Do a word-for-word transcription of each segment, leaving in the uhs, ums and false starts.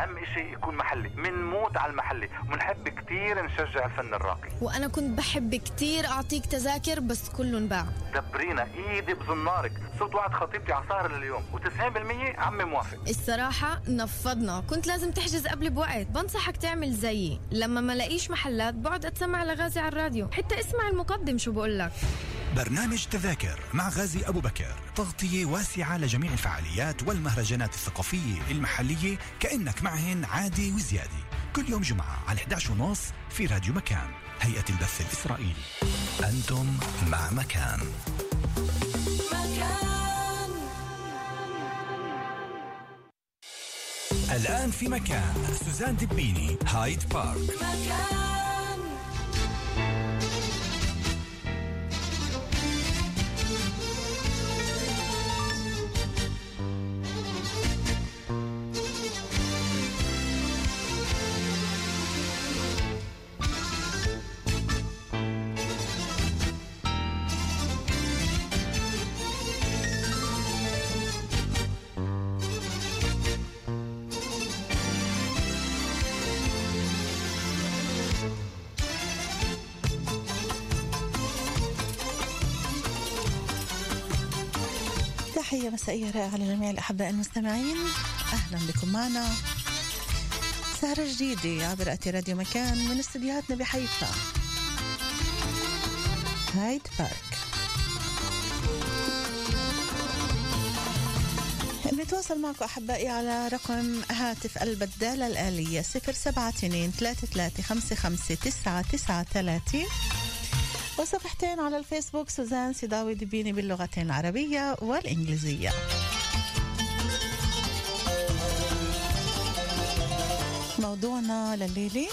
أهم إشي يكون محلي، منموت على المحلي ونحب كتير نشجع الفن الراقي. وأنا كنت بحب كتير أعطيك تذاكر بس كلهم باع. دبرينا إيدي بزنارك، صرت وعد خطيبتي عصار لليوم وتسعين بالمية عمي موافق. الصراحة نفضنا، كنت لازم تحجز قبل بوقت. بنصحك تعمل زيي، لما ما لاقيش محلات بعد أتسمع لغازي على الراديو، حتى اسمع المقدم شو بقولك. برنامج تذاكر مع غازي أبو بكر، تغطية واسعة لجميع الفعاليات والمهرجانات الثقافية المحلية كأنك معهن عادي وزيادة، كل يوم جمعة على إحدى عشر ونص في راديو مكان، هيئة البث الإسرائيلي. أنتم مع مكان. مكان الآن في مكان سوزان دبيني، هايد بارك. مكان تحية مسائية رائعة لجميع الأحباء المستمعين، أهلا بكم معنا سهرة جديدة عبر أثير راديو مكان من استديوهاتنا بحيفا، هايد بارك. نتواصل معكم أحبائي على رقم هاتف البدالة الآلية صفر سبعة اثنين ثلاثة ثلاثة خمسة خمسة تسعة تسعة ثلاثة، وصفحتين على الفيسبوك سوزان سيداوي دبيني باللغتين العربية والإنجليزية. موضوعنا لليلة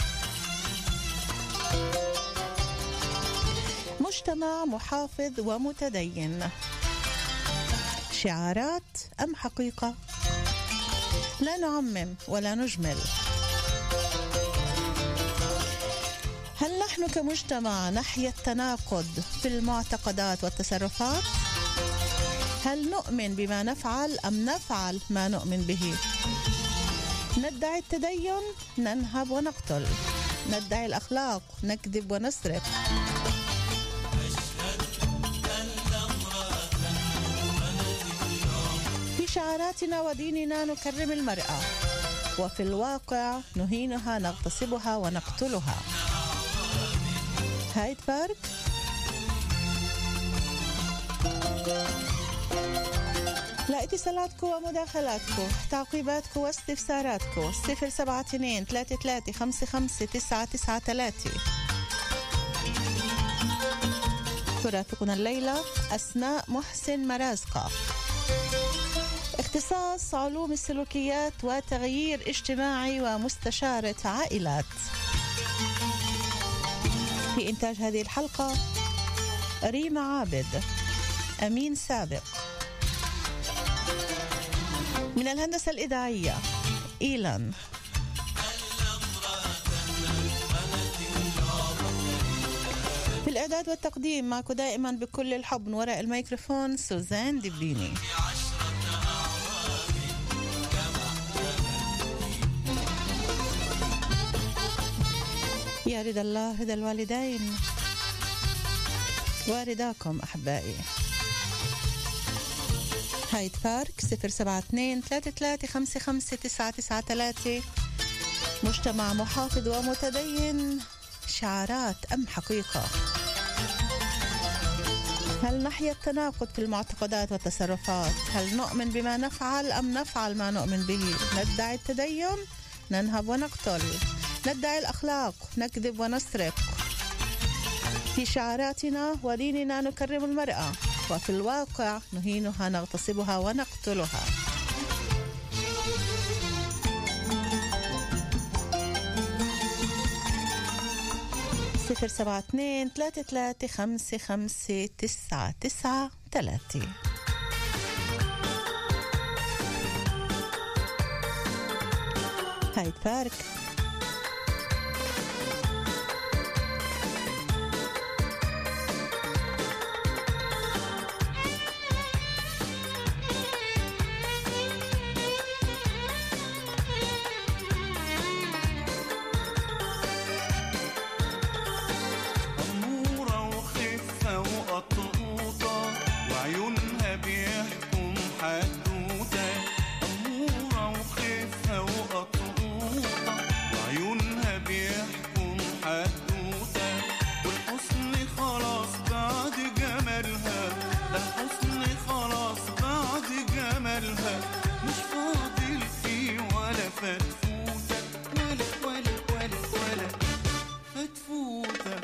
مجتمع محافظ ومتدين، شعارات أم حقيقة؟ لا نعمم ولا نجمل. هل نحن كمجتمع نحيا التناقض في المعتقدات والتصرفات؟ هل نؤمن بما نفعل أم نفعل ما نؤمن به؟ ندعي التدين، ننهب ونقتل. ندعي الأخلاق، نكذب ونسرق. في شعاراتنا وديننا نكرم المرأة، وفي الواقع نهينها، نغتصبها ونقتلها. هايد بارك. لا اتصالاتكم ومداخلاتكم، تعقيباتكم واستفساراتكم صفر سبعة اثنين ثلاثة ثلاثة خمسة خمسة تسعة تسعة ثلاثة. ترافقنا الليلة أسماء محسن مرازقة، اختصاص علوم السلوكيات وتغيير اجتماعي ومستشارة عائلات. في إنتاج هذه الحلقة ريما عابد، أمين سابق. من الهندسة الإذاعية إيلان. في الإعداد والتقديم معكم دائما بكل الحب من وراء الميكروفون سوزان دبيني. يا رضا الله رضا الوالدين ورداكم أحبائي. هايد بارك صفر سبعة اثنين ثلاثة ثلاثة خمسة خمسة تسعة تسعة ثلاثة. مجتمع محافظ ومتدين، شعارات أم حقيقة؟ هل نحيا التناقض في المعتقدات والتصرفات؟ هل نؤمن بما نفعل أم نفعل ما نؤمن به؟ ندعي التدين، ننهب ونقتل. ندعي الأخلاق، نكذب ونسرق. في شعاراتنا وديننا نكرم المرأة، وفي الواقع نهينها، نغتصبها ونقتلها. صفر سبعة اثنين ثلاثة ثلاثة خمسة خمسة تسعة تسعة ثلاثة. هايد بارك. فتفوتك ولا ولا ولا ولا فتفوتك.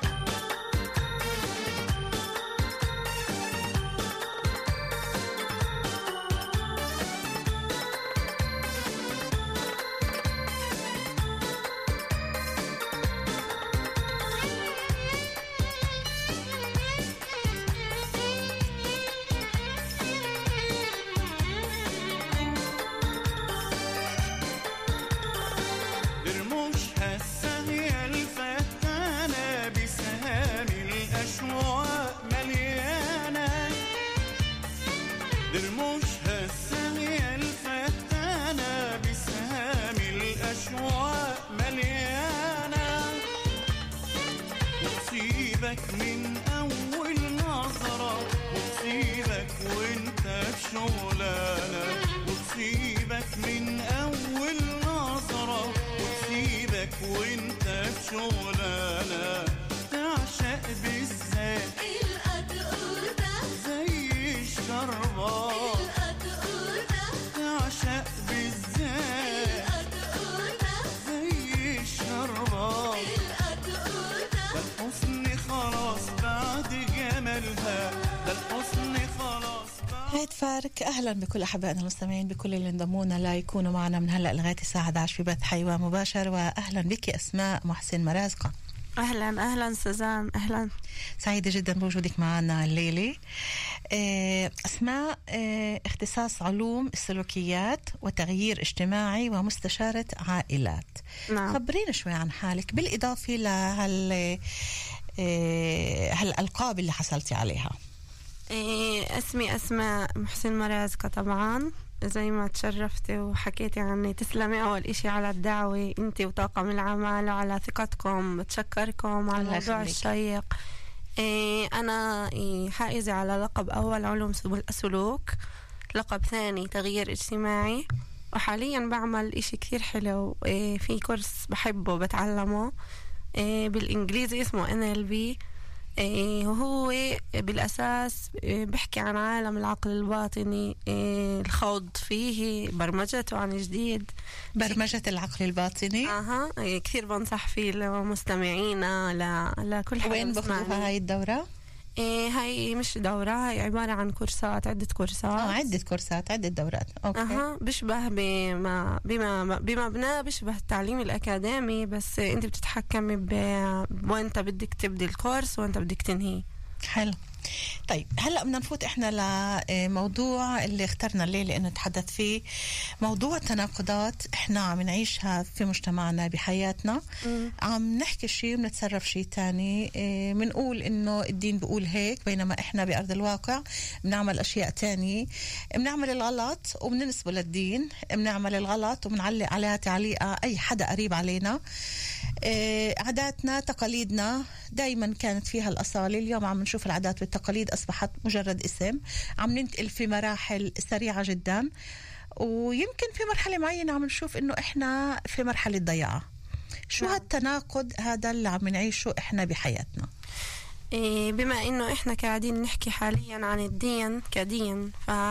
من أول نظرة وتصيبك وانت في شغلانة، وتصيبك من أول نظرة وتصيبك وانت في شغلانة. تعشق بالذات القطقوطة زي الشربات، القطقوطة تعشق بالذات القطقوطة زي الشربات، القطقوطة الحسن خلاص بعد جمالها، ده الحسن خلاص. هيد فارك، أهلا بكل أحبائنا المستمعين بكل اللي انضمونا لا يكونوا معنا من هلأ لغاية الساعة إحدى عشر في بث حيوان مباشر. وأهلا بك أسماء محسن مرازقة. أهلا أهلا سوزان، أهلا، سعيدة جدا بوجودك معنا الليلة. أسماء اختصاص علوم السلوكيات وتغيير اجتماعي ومستشارة عائلات. نعم. خبرينا شوي عن حالك بالإضافة لهال هالألقاب اللي حصلتي عليها. اسمي أسماء محسن مرازقة. طبعا زي ما تشرفتي وحكيتي عني، تسلمي أول إشي على الدعوة أنت وطاقم العمل وعلى ثقتكم، بتشكركم على الموضوع الشيق. أنا حائزة على لقب أول علوم السلوك، لقب ثاني تغيير اجتماعي، وحاليا بعمل إشي كثير حلو في كورس بحبه بتعلمه بالإنجليزي اسمه إن إل بي، وهو بالأساس بحكي عن عالم العقل الباطني، الخوض فيه، برمجته عن جديد، برمجة العقل الباطني. أها كثير بنصح فيه لمستمعينا، لكل حدا. وين بخذوها هاي الدورة؟ إيه هاي مش دورة، هاي عبارة عن كورسات، عدة كورسات. اه عدة كورسات، عدة دورات. اوكي. اها بشبه بما بما بمبنى بشبه التعليم الأكاديمي، بس انت بتتحكمي بوانت بدك تبدي الكورس وانت بدك تنهي. حلو. طيب هلأ بدنا نفوت احنا لموضوع اللي اخترنا الليلة انه نتحدث فيه، موضوع تناقضات احنا عم نعيشها في مجتمعنا بحياتنا. م. عم نحكي شيء ونتصرف شيء تاني، بنقول انه الدين بيقول هيك، بينما احنا بأرض الواقع بنعمل اشياء تانية. بنعمل الغلط وبننسبه للدين، بنعمل الغلط وبنعلق عليها تعليقة اي حدا قريب علينا. عاداتنا تقاليدنا دايما كانت فيها الأصالة، اليوم عم نشوف العادات والتقاليد أصبحت مجرد اسم، عم ننتقل في مراحل سريعة جدا، ويمكن في مرحلة معينة عم نشوف إنه إحنا في مرحلة ضياع. شو نعم. هالتناقض هذا اللي عم نعيشه إحنا بحياتنا؟ إيه بما إنه إحنا قاعدين نحكي حاليا عن الدين كدين،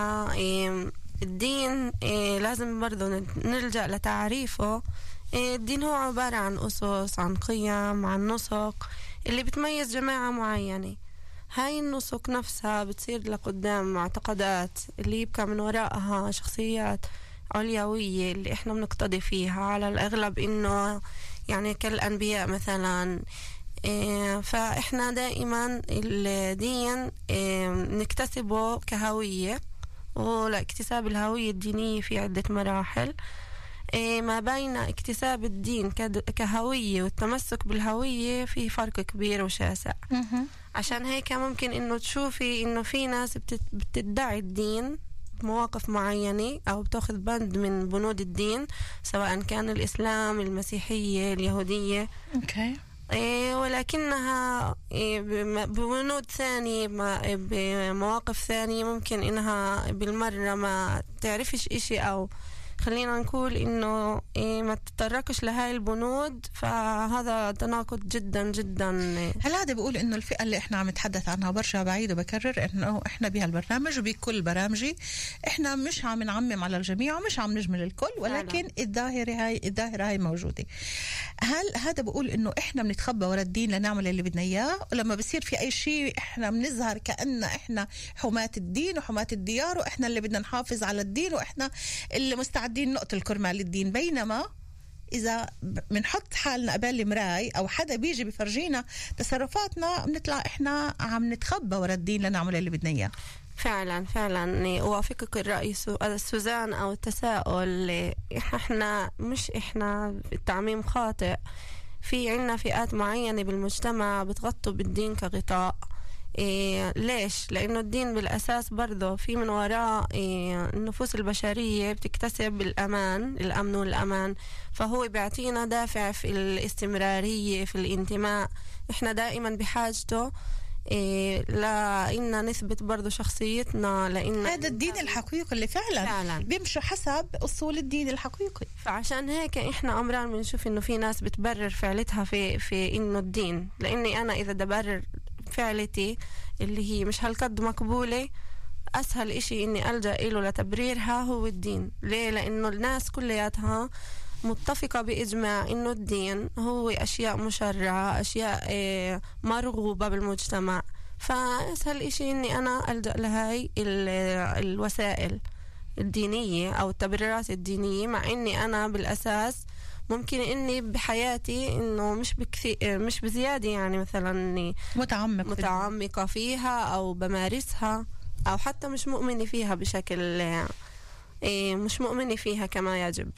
فالدين إيه لازم برضو نلجأ لتعريفه. الدين هو عبارة عن أسس، عن قيم، عن نسق اللي بتميز جماعة معينة. هاي النسق نفسها بتصير لقدام معتقدات اللي يبقى من وراءها شخصيات عليوية اللي احنا بنقتدي فيها على الأغلب، إنه يعني كالأنبياء مثلا. فإحنا دائما الدين نكتسبه كهوية، ولاكتساب الهوية الدينية في عدة مراحل. ما بين اكتساب الدين كهوية والتمسك بالهوية في فرق كبير وشاسع. عشان هيك ممكن انه تشوفي انه في ناس بتدعي الدين بمواقف معينة او بتاخذ بند من بنود الدين، سواء كان الاسلام، المسيحية، اليهودية. اوكي. ولكنها ببنود ثانية، بمواقف ثانية ممكن انها بالمرة ما تعرفش اشي او خلينا نقول إنه إيه ما تتطرقش لهاي البنود، فهذا تناقض جدا جدا. هل هذا بقول إنه الفئة اللي إحنا عم نتحدث عنها، برجع بعيد وبكرر إنه إحنا بهالبرنامج وبكل برامجي إحنا مش عم نعمم على الجميع ومش عم نجمل الكل، ولكن الظاهرة هاي الظاهرة هاي موجودة. هل هذا بقول إنه إحنا بنتخبى ورا الدين لنعمل اللي بدنا إياه، ولما بصير في أي شيء إحنا بنظهر كأن إحنا حماة الدين وحماة الديار وإحنا اللي بدنا نحافظ على الدين وإحنا اللي مستعدين نقتل كرمال الدين؟ بينما إذا بنحط حالنا قبال المراي أو حدا بيجي بفرجينا تصرفاتنا بنطلع إحنا عم نتخبى ورا الدين لنعمل اللي بدنا إياه. فعلا فعلا أوافقك الرأي سوزان أو التساؤل. إحنا مش إحنا التعميم خاطئ، في عنا فئات معينة بالمجتمع بتغطوا بالدين كغطاء. إيه ليش؟ لأنه الدين بالأساس برضه في من وراء إيه النفوس البشرية بتكتسب الأمان، الأمن والأمان، فهو بيعطينا دافع في الاستمرارية في الانتماء. إحنا دائما بحاجته إيه لإننا نثبت برضو شخصيتنا، لأن هذا الدين الحقيقي اللي فعلا, فعلا بيمشوا حسب أصول الدين الحقيقي. فعشان هيك إحنا أمران بنشوف إنه في ناس بتبرر فعلتها في في إنه الدين، لأني أنا إذا دبرر فعلتي اللي هي مش هالقد مقبولة، أسهل إشي إني ألجأ إله لتبريرها هو الدين. ليه؟ لأنه الناس كلياتها متفقة بإجماع إنه الدين هو أشياء مشرعة، أشياء مرغوبة بالمجتمع، فأسهل إشي إني أنا ألجأ لهاي الوسائل الدينية أو التبريرات الدينية، مع إني أنا بالأساس ممكن إني بحياتي إنه مش بكثير مش بزيادة، يعني مثلا إني متعمق متعمقة فيها أو بمارسها أو حتى مش مؤمنة فيها بشكل إيه مش مؤمنة فيها كما يجب.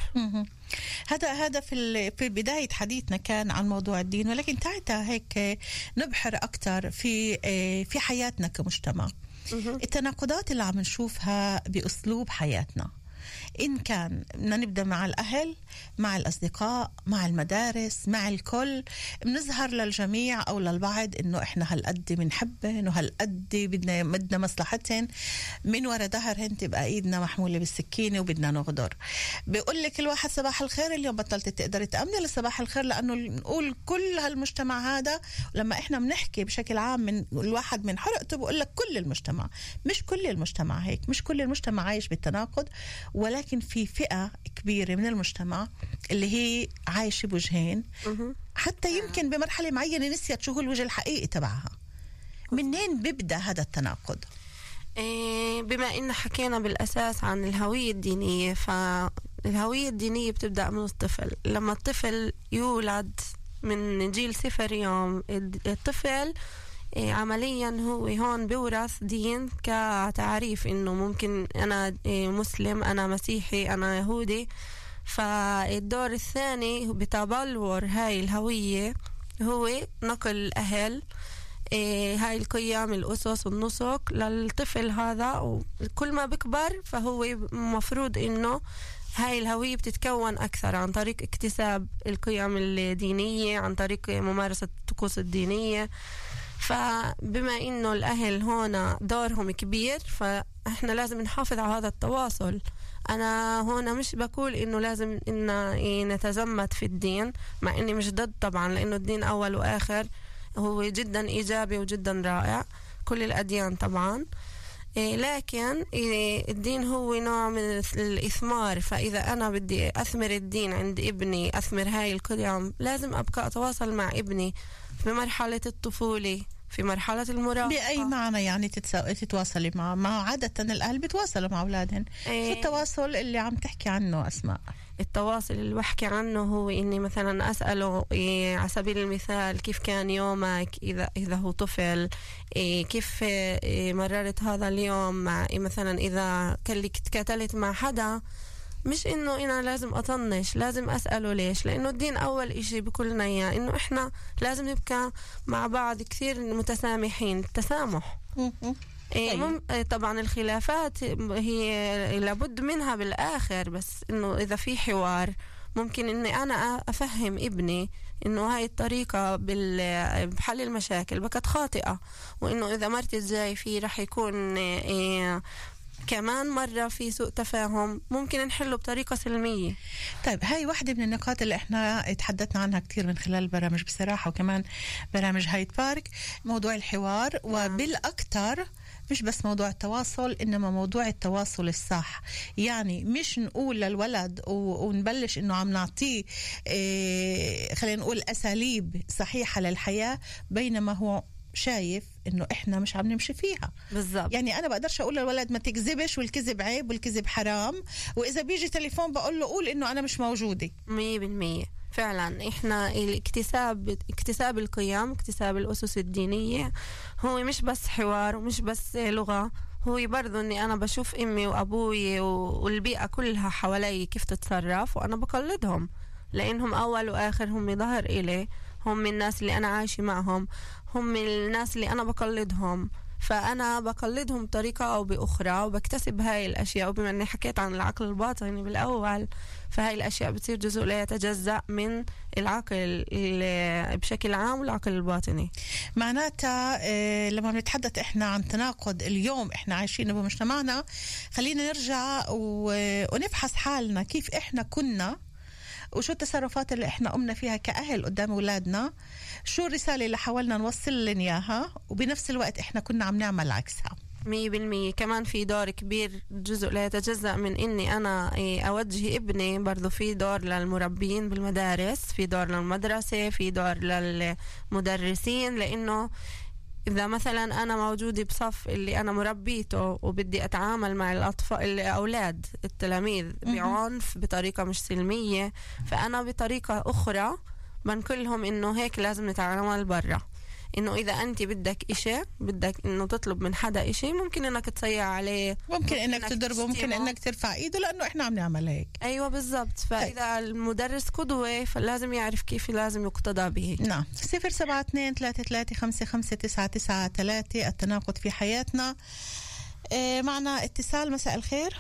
هذا هذا في في بداية حديثنا كان عن موضوع الدين، ولكن تعالى هيك نبحر أكتر في في حياتنا كمجتمع. التناقضات اللي عم نشوفها بأسلوب حياتنا، إن كان بدنا نبدأ مع الأهل، مع الأصدقاء، مع المدارس، مع الكل، بنظهر للجميع أو للبعض إنه إحنا هالقد بنحبهن وهالقد بدنا بدنا مصلحتهن، من وراء ظهرهن تبقى إيدنا محمولة بالسكينة وبدنا نغدر. بيقول لك الواحد صباح الخير، اليوم بطلت تقدر تأمني لصباح الخير، لأنه نقول كل هالمجتمع هذا. لما إحنا بنحكي بشكل عام من الواحد من حرقته بقول لك كل المجتمع، مش كل المجتمع هيك، مش كل المجتمع عايش بالتناقض، ولكن في فئة كبيرة من المجتمع اللي هي عايشة بوجهين، حتى يمكن بمرحلة معينة نسيت شو هو الوجه الحقيقي تبعها. منين بيبدأ هذا التناقض؟ بما إن حكينا بالأساس عن الهوية الدينية، فالهوية الدينية بتبدأ من الطفل. لما الطفل يولد من جيل صفر يوم، الطفل عمليا هو هون بورث دين كتعريف إنه ممكن أنا مسلم، أنا مسيحي، أنا يهودي. فالدور الثاني بتبلور هاي الهوية هو نقل الأهل هاي القيم، الأسس، النسق للطفل هذا. وكل ما بكبر فهو مفروض إنه هاي الهوية بتتكون أكثر عن طريق اكتساب القيم الدينية، عن طريق ممارسة الطقوس الدينية. فبما إنه الأهل هنا دورهم كبير، فإحنا لازم نحافظ على هذا التواصل. أنا هنا مش بقول إنه لازم إن نتزمت في الدين، مع إني مش ضد طبعا، لأنه الدين أول وآخر هو جدا إيجابي وجدا رائع، كل الأديان طبعا. لكن الدين هو نوع من الإثمار، فإذا أنا بدي أثمر الدين عند ابني، أثمر هاي القيم، لازم أبقى أتواصل مع ابني في مرحلة الطفولة، في مرحلة المراهقة. بأي معنى يعني تتواصلي مع ما عادة الأهل بتواصلوا مع أولادهم؟ إيه شو التواصل اللي عم تحكي عنه أسماء؟ التواصل اللي بحكي عنه هو إني مثلا أسأله إيه على سبيل المثال كيف كان يومك إذا إذا هو طفل، إيه كيف إيه مررت هذا اليوم مع إيه مثلا إذا كان تكاتلت مع حدا. مش إنه أنا لازم أطنش، لازم أسأله ليش، لأنه الدين أول إشي بكلنا إياه إنه إحنا لازم نبقى مع بعض كثير متسامحين. التسامح إيه مم... طبعا الخلافات هي لابد منها بالآخر، بس إنه إذا في حوار ممكن إني أنا أفهم ابني إنه هاي الطريقة بحل المشاكل بكت خاطئة، وإنه إذا مرت الجاي فيه رح يكون إيه كمان مرة في سوء تفاهم ممكن نحله بطريقة سلمية. طيب هاي واحدة من النقاط اللي احنا تحدثنا عنها كتير من خلال البرامج بصراحة، وكمان برامج هايد بارك، موضوع الحوار. وبالأكثر مش بس موضوع التواصل، إنما موضوع التواصل الصح. يعني مش نقول للولد ونبلش إنه عم نعطيه إيه خلينا نقول أساليب صحيحة للحياة بينما هو شايف إنه إحنا مش عم نمشي فيها. بالضبط. يعني أنا بقدرش أقول للولد ما تكذبش والكذب عيب والكذب حرام، وإذا بيجي تليفون بقول له قول إنه أنا مش موجودة. مية بالمية فعلا. إحنا الاكتساب اكتساب القيم، اكتساب الأسس الدينية هو مش بس حوار ومش بس لغة، هو برضو إني أنا بشوف أمي وأبوي والبيئة كلها حوالي كيف تتصرف وأنا بقلدهم، لأنهم أول وآخر هم ظهر إلي، هم الناس اللي أنا عايشة معهم، هم الناس اللي أنا بقلدهم. فأنا بقلدهم بطريقة أو بأخرى وبكتسب هاي الأشياء. وبما أني حكيت عن العقل الباطني بالأول، فهاي الأشياء بتصير جزء لا يتجزأ من العقل بشكل عام والعقل الباطني. معناتها إيه لما بنتحدث إحنا عن تناقض اليوم إحنا عايشين بمجتمعنا، خلينا نرجع ونفحص حالنا كيف إحنا كنا وشو التصرفات اللي احنا قمنا فيها كأهل قدام أولادنا، شو الرسالة اللي حاولنا نوصل لهم إياها، وبنفس الوقت احنا كنا عم نعمل عكسها. مية بالمية. كمان في دور كبير جزء لا يتجزأ من إني أنا أوجه ابني، برضو في دور للمربين بالمدارس، في دور للمدرسة، في دور للمدرسين. لأنه إذا مثلا أنا موجودة بصف اللي أنا مربيته وبدي أتعامل مع الأطفال الأولاد التلاميذ بعنف بطريقة مش سلمية، فأنا بطريقة أخرى بنقولهم إنه هيك لازم نتعامل برا. إنه إذا أنت بدك إشي، بدك إنه تطلب من حدا إشي، ممكن إنك تصيع عليه، ممكن, ممكن إنك تضربه، ممكن إنك ترفع إيده، لأنه إحنا عم نعمل هيك. أيوة بالضبط. فإذا المدرس قدوة فلازم يعرف كيف لازم يقتدى به. نعم. صفر سبعة اثنين ثلاثة ثلاثة خمسة خمسة تسعة تسعة ثلاثة. التناقض في حياتنا. إيه معنا اتصال. مساء الخير.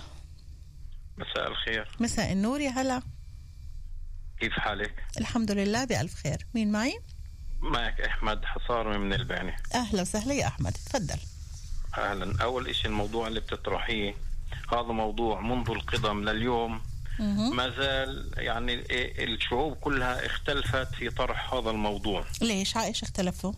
مساء الخير. مساء النور. يا هلا، كيف حالك؟ الحمد لله بألف خير. مين معي؟ معك أحمد حصار من الباني. أهلا وسهلا يا أحمد، تفضل. أهلا. أول إشي الموضوع اللي بتطرحيه هذا موضوع منذ القدم لليوم ما زال، يعني الشعوب كلها اختلفت في طرح هذا الموضوع. ليش؟ عايش اختلفوا؟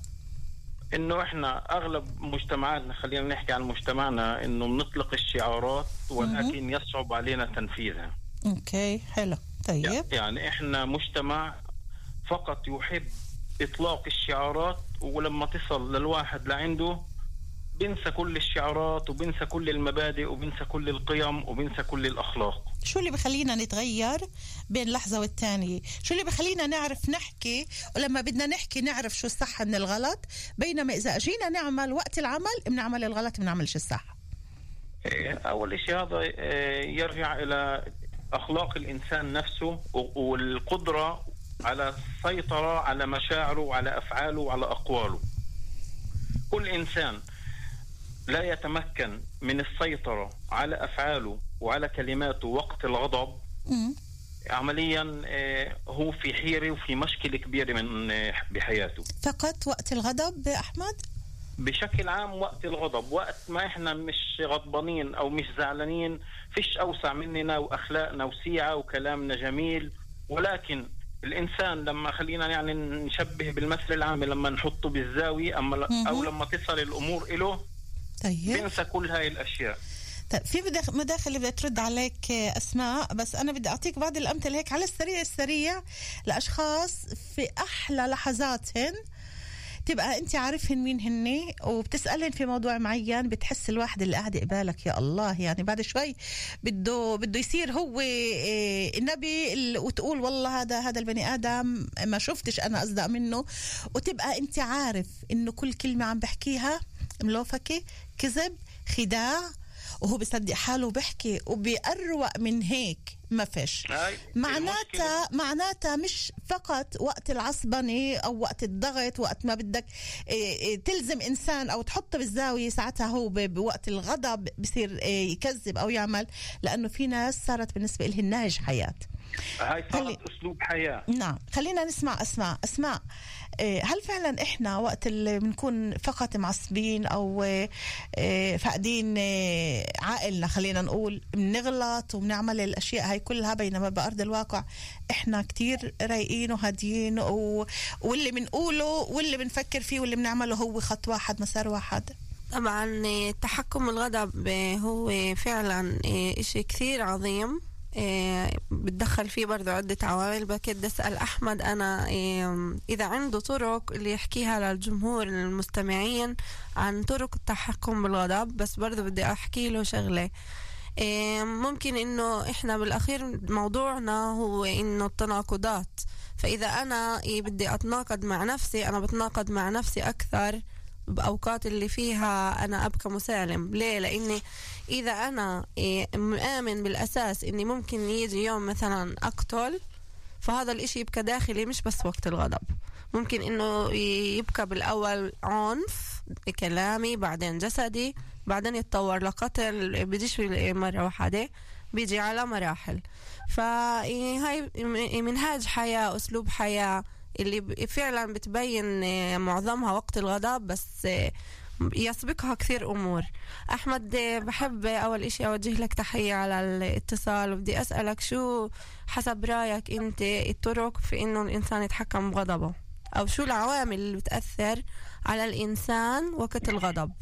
إنه إحنا أغلب مجتمعاتنا، خلينا نحكي عن مجتمعنا، إنه بنطلق الشعارات ولكن يصعب علينا تنفيذها. أوكي حلو. طيب يعني إحنا مجتمع فقط يحب إطلاق الشعارات، ولما تصل للواحد لعنده بنسى كل الشعارات وبنسى كل المبادئ وبنسى كل القيم وبنسى كل الأخلاق. شو اللي بخلينا نتغير بين لحظة والتانية؟ شو اللي بخلينا نعرف نحكي، ولما بدنا نحكي نعرف شو الصح من الغلط، بينما إذا أجينا نعمل وقت العمل بنعمل الغلط بنعملش الصح؟ أول شيء هذا يرجع إلى أخلاق الإنسان نفسه والقدرة على السيطرة على مشاعره وعلى أفعاله وعلى أقواله. كل إنسان لا يتمكن من السيطرة على أفعاله وعلى كلماته وقت الغضب م. عمليا هو في حيرة وفي مشكلة كبيرة من بحياته. فقط وقت الغضب أحمد؟ بشكل عام وقت الغضب، وقت ما إحنا مش غضبانين أو مش زعلانين فيش أوسع مننا وأخلاقنا وسيعة وكلامنا جميل. ولكن الإنسان لما خلينا يعني نشبه بالمثل العام، لما نحطه بالزاوية أما أو لما تصل الأمور إله طيب بنسى كل هاي الأشياء. طيب في مداخل اللي بدها ترد عليك أسماء، بس أنا بدي أعطيك بعض الأمثلة هيك على السريع السريع لأشخاص في أحلى لحظاتهن تبقى أنت عارفهن مين هني وبتسألهن في موضوع معين، بتحس الواحد اللي قاعد قبالك يا الله يعني بعد شوي بده بده يصير هو النبي، وتقول والله هذا هذا البني آدم ما شفتش أنا أصدق منه، وتبقى أنت عارف إنه كل كلمة عم بحكيها ملوفكة كذب خداع، وهو بيصدق حاله بحكي وبيقروق من هيك ما فيش. معناتها معناتها مش فقط وقت العصبنة أو وقت الضغط، وقت ما بدك تلزم إنسان أو تحطه بالزاوية ساعتها هو بوقت الغضب بصير يكذب أو يعمل، لأنه في ناس صارت بالنسبة لهم نهج حياة. هاي خلي- صارت أسلوب حياة. نعم، خلينا نسمع أسماء. أسماء، آه، هل فعلا إحنا وقت اللي بنكون فقط معصبين أو آه، آه، فاقدين آه، عقلنا، خلينا نقول بنغلط وبنعمل الأشياء هاي كلها، بينما بأرض الواقع إحنا كتير رايقين وهاديين و... واللي بنقوله واللي بنفكر فيه واللي بنعمله هو خط واحد مسار واحد؟ طبعا آه، تحكم الغضب آه، هو فعلا آه، إشي كثير عظيم. آه، بتدخل فيه برضو عدة عوامل. بكد أسأل أحمد أنا آه، إذا عنده طرق اللي يحكيها للجمهور المستمعين عن طرق التحكم بالغضب. بس برضو بدي أحكي له شغلة. آه، ممكن إنه إحنا بالأخير موضوعنا هو إنه التناقضات. فإذا أنا إيه بدي أتناقض مع نفسي، أنا بتناقض مع نفسي أكثر بأوقات اللي فيها أنا أبقى مسالم. ليه؟ لأني إذا أنا إيه مآمن بالأساس إني ممكن يجي يوم مثلا أقتل، فهذا الإشي يبقى داخلي مش بس وقت الغضب. ممكن إنه يبقى بالأول عنف كلامي، بعدين جسدي، بعدين يتطور لقتل. بيجيش مرة واحدة، بيجي على مراحل. فهاي منهاج حياة، أسلوب حياة اللي فعلا بتبين معظمها وقت الغضب، بس يسبقها كثير أمور. أحمد، بحب أول إشي أوجه لك تحية على الاتصال، وبدي أسألك شو حسب رأيك أنت الطرق في إنه الإنسان يتحكم بغضبه، أو شو العوامل اللي بتأثر على الإنسان وقت الغضب؟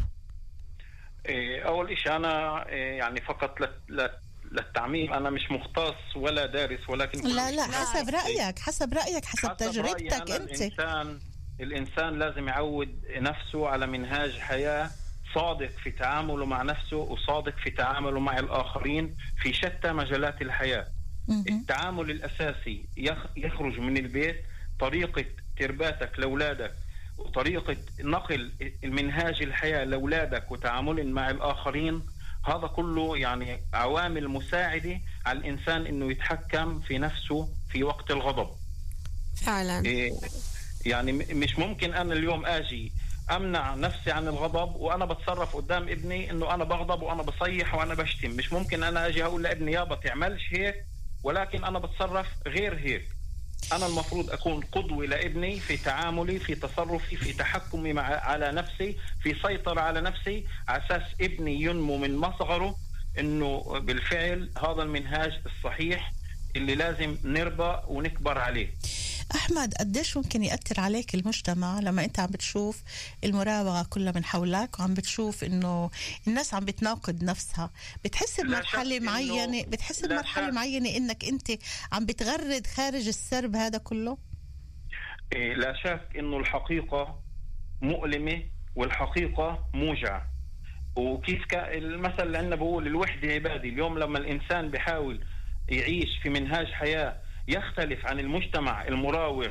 إيه، أول إشي أنا إيه، يعني فقط لت- لت- للتعميم، أنا مش مختص ولا دارس، ولكن كل لا لا، شيء- حسب رأيك، حسب رأيك، حسب حسب رأيي تجربتك أنا أنت. الإنسان الإنسان لازم يعود نفسه على منهاج حياة صادق في تعامله مع نفسه، وصادق في تعامله مع الآخرين في شتى مجالات الحياة. مهم. التعامل الأساسي يخ- يخرج من البيت، طريقة ترباتك لأولادك وطريقة نقل المنهاج الحياة لأولادك وتعامل مع الآخرين، هذا كله يعني عوامل مساعدة على الإنسان إنه يتحكم في نفسه في وقت الغضب. فعلا. إيه، يعني م- مش ممكن أنا اليوم آجي أمنع نفسي عن الغضب وأنا بتصرف قدام ابني إنه أنا بغضب وأنا بصيح وأنا بشتم. مش ممكن أنا آجي أقول لابني يابا تعملش هيك، ولكن أنا بتصرف غير هيك. أنا المفروض أكون قدوة لابني في تعاملي، في تصرفي، في تحكمي مع على نفسي، في سيطرة على نفسي، على أساس ابني ينمو من مصغره إنه بالفعل هذا المنهاج الصحيح اللي لازم نربى ونكبر عليه. أحمد، قديش ممكن يأثر عليك المجتمع لما أنت عم بتشوف المراوغة كلها من حولك وعم بتشوف إنه الناس عم بتناقض نفسها؟ بتحس بمرحلة شك معينة إنه- بتحس لا بمرحلة شك. معينة إنك أنت عم بتغرد خارج السرب هذا كله؟ إيه، لا شك إنه الحقيقة مؤلمة والحقيقة موجعة. وكيف كا المثل اللي عندنا بقول الوحدة عبادي. اليوم لما الإنسان بيحاول يعيش في منهاج حياة يختلف عن المجتمع المراوغ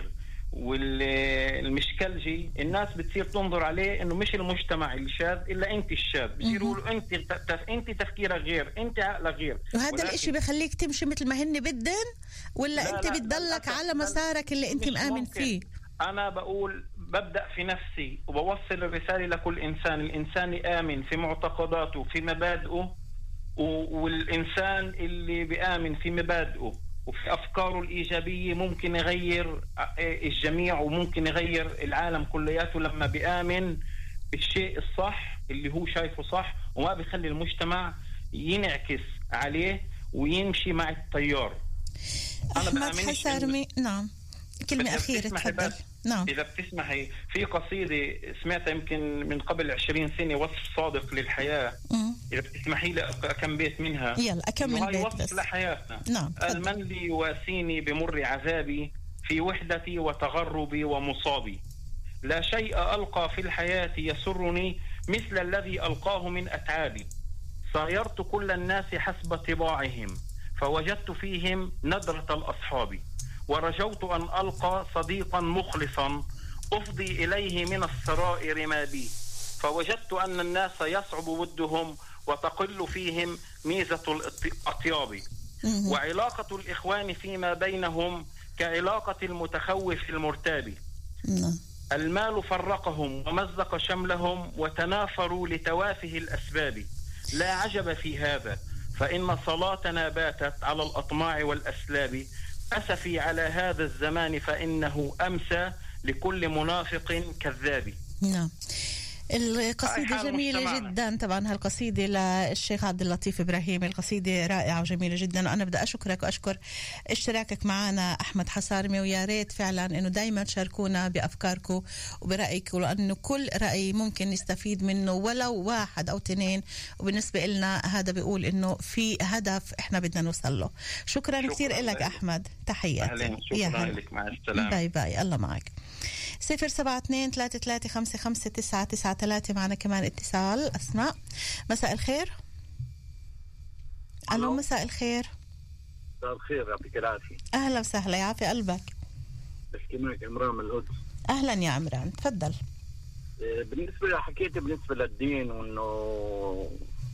والمشكلجي، الناس بتصير تنظر عليه انه مش المجتمع الشاذ الا انت الشاذ. بصيروا يقولوا انت تف... انت تفكيرك غير، انت عقلك غير. وهذا ولكن الاشي بخليك تمشي مثل ما هن بدن، ولا لا أنت لا بتضلك لا على مسارك اللي أنت مش مآمن ممكن. فيه؟ أنا بقول ببدأ في نفسي وبوصل الرسالة لكل إنسان. الإنسان يآمن في معتقداته في مبادئه، و- والإنسان اللي بيآمن في مبادئه وفي أفكاره الإيجابية ممكن يغير الجميع وممكن يغير العالم كلياته لما بيآمن بالشيء الصح اللي هو شايفه صح، وما بيخلي المجتمع ينعكس عليه ويمشي مع التيار. أنا أحمد بآمنش إنه- حسارمي، نعم، كلمة إذا أخيرة بتسمحي تفضل. بس- نعم. إذا بتسمحي، في قصيدة سمعتها يمكن من قبل عشرين سنة، وصف صادق للحياة. مم. إذا بتسمحي لي كم بيت منها. يلا أكمل إنه هاي بيت وصف بس. لحياتنا. نعم، تفضل. المن لي يواسيني بمر عذابي في وحدتي وتغربي ومصابي. لا شيء ألقى في الحياة يسرني مثل الذي ألقاه من أتعابي. صايرت كل الناس حسب طباعهم فوجدت فيهم ندرة الأصحاب. ورجوت أن ألقى صديقا مخلصا أفضي إليه من السرائر ما بي. فوجدت أن الناس يصعب ودهم وتقل فيهم ميزة الأطياب. مهم. وعلاقة الإخوان فيما بينهم كعلاقة المتخوف المرتاب. نعم. المال فرقهم ومزق شملهم وتنافروا لتوافه الأسباب. لا عجب في هذا، فإن صلاتنا باتت على الأطماع والأسلاب. أسفي على هذا الزمان فإنه أمسى لكل منافق كذاب. نعم. القصيدة جميلة مجتمعنا. جدا طبعا هالقصيدة للشيخ عبد اللطيف إبراهيم، القصيدة رائعة وجميلة جدا. وأنا بدي أشكرك وأشكر اشتراكك معنا أحمد حصارمي، ويا ريت فعلا إنه دايما تشاركونا بأفكاركم وبرأيكم، لأنه كل رأي ممكن نستفيد منه ولو واحد أو اثنين، وبالنسبة لنا هذا بيقول إنه في هدف إحنا بدنا نوصل له. شكرا, شكرا كثير لك أحمد، تحياتي. شكرا لك، مع السلامة. باي باي، الله معك. صفر سبعة اثنين ثلاثة ثلاثة خمسة خمسة تسعة تسعة ثلاثة. معنا كمان اتصال. أسماء، مساء الخير. ألو، مساء الخير. مساء الخير، يعطيك العافية. أهلا وسهلا، يعافي قلبك. بحكي معك عمران من القدس. أهلا يا عمران، تفضل. بالنسبة حكيت بالنسبة للدين وإنه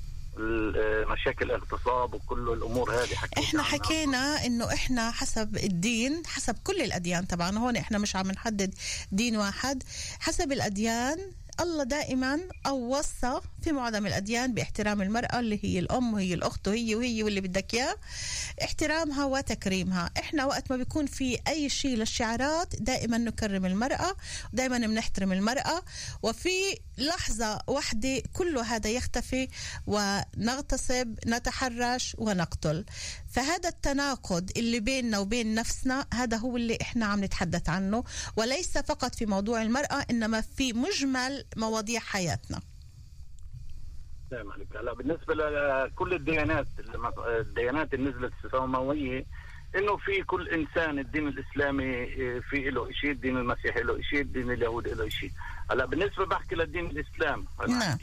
مشاكل الاغتصاب وكل الامور هذه حكينا احنا حكينا انه احنا حسب الدين، حسب كل الاديان طبعا، هون احنا مش عم نحدد دين واحد، حسب الاديان الله دائما أو وصى في معظم الأديان باحترام المرأة اللي هي الأم وهي الأخت وهي وهي واللي بدك إياه، احترامها وتكريمها. إحنا وقت ما بيكون في أي شيء للشعارات دائما نكرم المرأة، دائما بنحترم المرأة، وفي لحظة واحدة كل هذا يختفي ونغتصب، نتحرش ونقتل. فهذا التناقض اللي بيننا وبين نفسنا هذا هو اللي إحنا عم نتحدث عنه، وليس فقط في موضوع المرأة إنما في مجمل مواضيع حياتنا. نعم عليك. هلا بالنسبة لكل الديانات الديانات اللي نزلت السماوية، إنه في كل إنسان الدين الإسلامي في له شيء، الدين المسيحي له شيء، الدين اليهودي له شيء. هلا بالنسبة بحكي للدين الإسلام، نعم.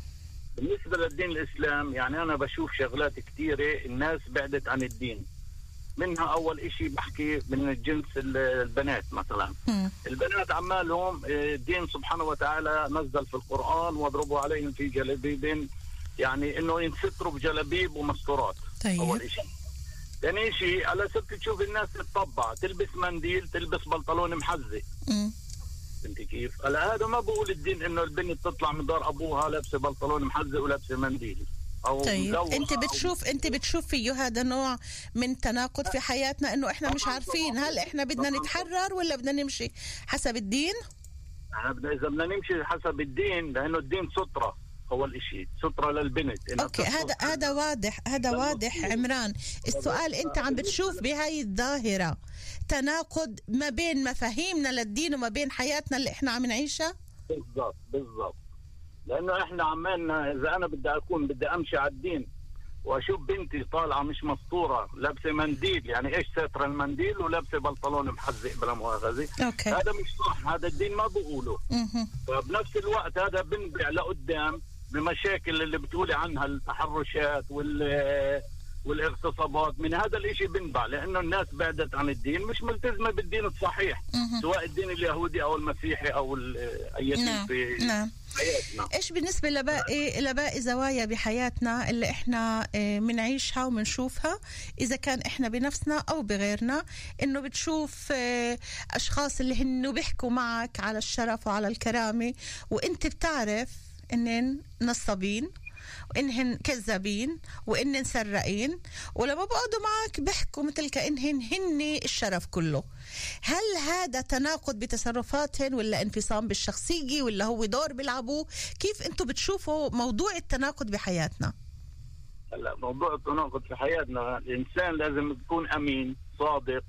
بالنسبة للدين الإسلام يعني أنا بشوف شغلات كتيرة الناس بعدت عن الدين. منها أول إشي بحكي من الجنس البنات مثلا. م. البنات عمالهم الدين سبحانه وتعالى نزل في القرآن واضربوا عليهم في جلابيب، يعني إنه ينستروا بجلابيب ومستورات. طيب. أول إشي. ثاني إشي على سبت تشوف الناس تتطبع، تلبس منديل، تلبس بنطلون محزق. م. انت كيف؟ هلا هذا ما بقول الدين انه البنت تطلع من دار ابوها لابسه بنطلون محزق ولابسه منديل او طيب. انت بتشوف أو... انت بتشوف فيه هذا نوع من تناقض في حياتنا، انه احنا مش عارفين هل احنا بدنا نتحرر ولا بدنا نمشي حسب الدين؟ احنا بدنا اذا بدنا نمشي حسب الدين، لانه الدين سترة اول اشي، سترة للبنت. اوكي، هذا هذا واضح، هذا واضح عمران. السؤال انت عم بتشوف بهاي الظاهرة تناقض ما بين مفاهيمنا للدين وما بين حياتنا اللي احنا عم نعيشها؟ بالضبط بالضبط، لانه احنا عمالنا اذا انا بدي اكون بدي امشي على الدين واشوف بنتي طالعه مش مسطوره لابسه منديل، يعني ايش ساتر المنديل ولابسه بنطلون محزق بلا مؤاخذه، هذا مش صح، هذا الدين ما بقوله. فبنفس الوقت هذا بنبع لقدام بمشاكل اللي بتقولي عنها، التحرشات وال والاغتصابات، من هذا الاشي بنبع، لانه الناس بعدت عن الدين، مش ملتزمه بالدين الصحيح، مه. سواء الدين اليهودي او المسيحي او اي دين. نعم. في نعم. حياتنا. ايش بالنسبه لباقي لباقي زوايا بحياتنا اللي احنا بنعيشها وبنشوفها، اذا كان احنا بنفسنا او بغيرنا، انه بتشوف اشخاص اللي هن بيحكوا معك على الشرف وعلى الكرامه، وانت بتعرف انن نصابين وإنهن كذابين وإنهن سرقين، ولما بقعدوا معك بيحكوا مثل كأنهن هن الشرف كله. هل هذا تناقض بتصرفاتهن ولا انفصام بالشخصية ولا هو دور بيلعبوه؟ كيف أنتوا بتشوفوا موضوع التناقض بحياتنا؟ هلا موضوع التناقض في حياتنا، الإنسان لازم يكون أمين صادق،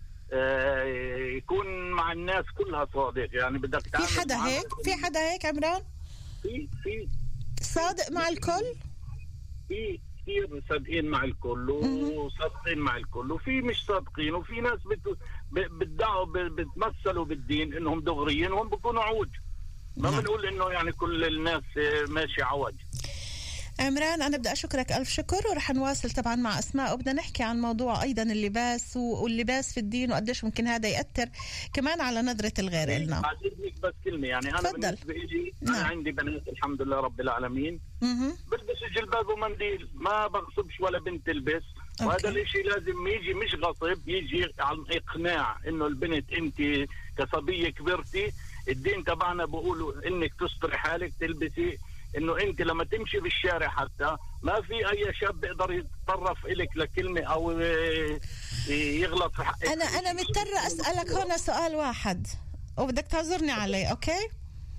آه يكون مع الناس كلها صادق، يعني بدك تعمل في حدا هيك؟ في حدا هيك عمران؟ في في صادق مع الكل؟ في كثير صادقين مع الكل وصادقين مع الكل، وفي مش صادقين، وفي ناس بتدعوا بتمثلوا بالدين انهم دغريين وهم بيكونوا عوج. ما بنقول انه يعني كل الناس ماشي عوج. عمران، أنا بدي أشكرك ألف شكر، ورح نواصل طبعا مع أسماء وبدنا نحكي عن موضوع أيضا اللباس واللباس في الدين وقديش ممكن هذا يأثر كمان على نظرة الغير إلنا. بعتذرك بس كلمة، يعني أنا فضل. بالنسبة إلي أنا نعم. عندي بنات الحمد لله رب العالمين بلبسوا جلباب ومنديل، ما بغصبش ولا بنت تلبس. وهذا الاشي لازم يجي مش غصب، يجي عن إقناع إنه البنت أنت كصبية كبرتي، الدين تبعنا بقولوا إنك تستري حالك، تلبسي انه انت لما تمشي بالشارع حتى ما في اي شاب بيقدر يتطرف إلك لكلمه او يغلط في حقك. انا انا مضطره اسالك هنا سؤال واحد وبدك تعذرني عليه، اوكي؟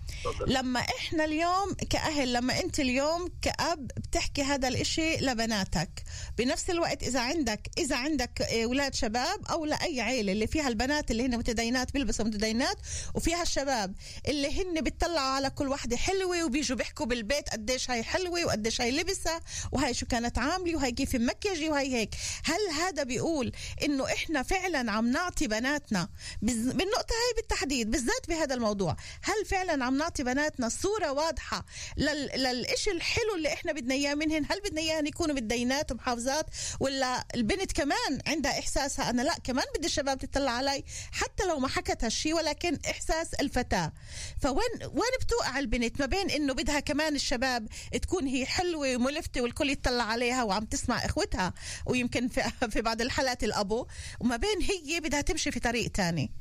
لما احنا اليوم كأهل، لما انت اليوم كأب بتحكي هذا الاشي لبناتك، بنفس الوقت اذا عندك اذا عندك اولاد شباب او لاي عيله اللي فيها البنات اللي هن متدينات بيلبسوا متدينات وفيها الشباب اللي هن بيطلعوا على كل واحدة حلوة وبيجوا بيحكوا بالبيت قديش هاي حلوة وقديش هاي لبسها وهاي شو كانت عاملة وهاي كيف مكيجي وهاي هيك، هل هذا بيقول انه احنا فعلا عم نعطي بناتنا بالنقطة هاي بالتحديد بالذات بهذا الموضوع، هل فعلا عم نعطي بناتنا صورة واضحة لل... للإشي الحلو اللي احنا بدنا اياه منهن؟ هل بدنا اياهن يكونوا متدينات ومحافظات، ولا البنت كمان عندها احساسها انا لا كمان بدي الشباب تطلع علي حتى لو ما حكت هالشي، ولكن احساس الفتاة. فوين وين بتوقع البنت ما بين انه بدها كمان الشباب تكون هي حلوة وملفتة والكل يطلع عليها وعم تسمع اخوتها ويمكن في, في بعض الحالات الابو، وما بين هي بدها تمشي في طريق تاني؟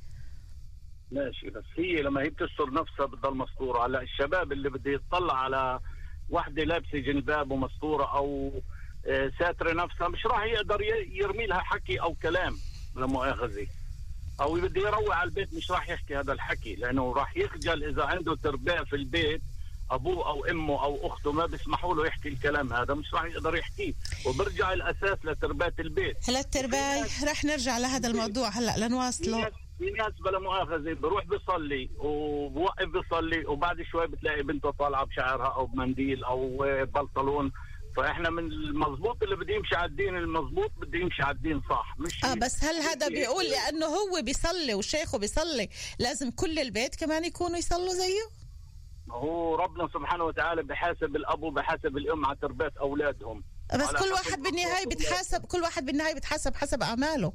ماشي، بس هي لما هي بتستر نفسها بتضل مستورة. على الشباب اللي بده يطلع على واحدة لابسة جلباب ومستورة او ساترة نفسها مش راح يقدر يرمي لها حكي او كلام لا مؤاخذة، او بده يروع على البيت مش راح يحكي هذا الحكي، لانه راح يخجل اذا عنده تربية في البيت ابوه او امه او اخته ما بيسمحوا له يحكي الكلام هذا مش راح يقدر يحكيه، وبرجع الاساس لتربية البيت. هلا التربية راح نرجع لهذا الموضوع هلا لنواصله. في ناس بلا مؤاخذة بروح بيصلي وبوقف بيصلي وبعد شوي بتلاقي بنته طالعة بشعرها او بمنديل او بنطلون. فاحنا من المضبوط اللي بده يمشي على الدين المضبوط بده يمشي على الدين صح، مش اه بس هل هذا بيقول لانه هو بيصلي وشيخه بيصلي لازم كل البيت كمان يكونوا يصلوا زيه؟ هو ربنا سبحانه وتعالى بحاسب الاب وبحاسب الام على تربية اولادهم، بس كل واحد بالنهاية بتحاسب كل واحد بالنهاية بتحاسب حسب اعماله،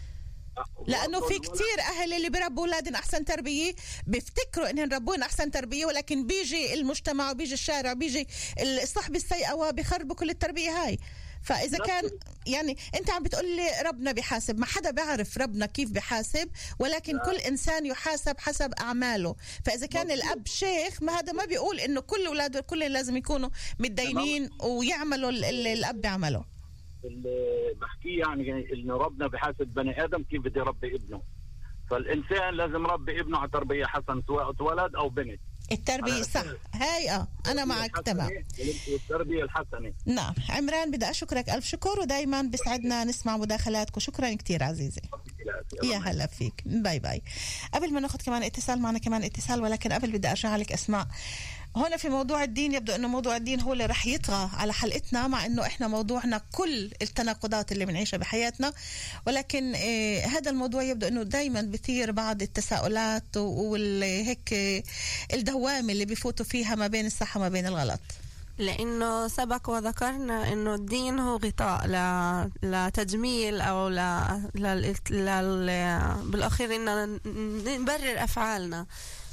لانه في كتير اهل اللي بيربوا اولادهم احسن تربيه بيفتكروا انهم ربون احسن تربيه، ولكن بيجي المجتمع وبيجي الشارع وبيجي الصحبه السيئه وبيخربوا كل التربيه هاي. فاذا كان يعني انت عم بتقول لي ربنا بيحاسب، ما حدا بيعرف ربنا كيف بيحاسب، ولكن كل انسان يحاسب حسب اعماله. فاذا كان الاب شيخ ما هذا ما بيقول انه كل اولاده كل لازم يكونوا متدينين ويعملوا اللي الاب بيعمله. اللي بحكيه يعني انه ربنا بحاسب بني ادم كيف بده يربي ابنه، فالانسان لازم يربي ابنه على تربيه حسن سواء ولد او بنت. التربيه صح هاي اه انا معك تمام. التربيه الحسنه. نعم عمران بدي اشكرك الف شكر، ودائما بسعدنا نسمع مداخلاتك وشكرا كثير عزيزي. يا هلا فيك، باي باي. قبل ما ناخذ كمان اتصال معنا كمان اتصال، ولكن قبل بدي ارجع لك اسماء هنا في موضوع الدين. يبدو انه موضوع الدين هو اللي رح يطغى على حلقتنا، مع انه احنا موضوعنا كل التناقضات اللي بنعيشها بحياتنا، ولكن إيه هذا الموضوع يبدو انه دايما بثير بعض التساؤلات وهيك الدوامه اللي بيفوتوا فيها ما بين الصح وما بين الغلط. لأنه سبق وذكرنا إنه الدين هو غطاء ل... لتجميل أو ل... ل... ل... بالأخير إننا نبرر أفعالنا.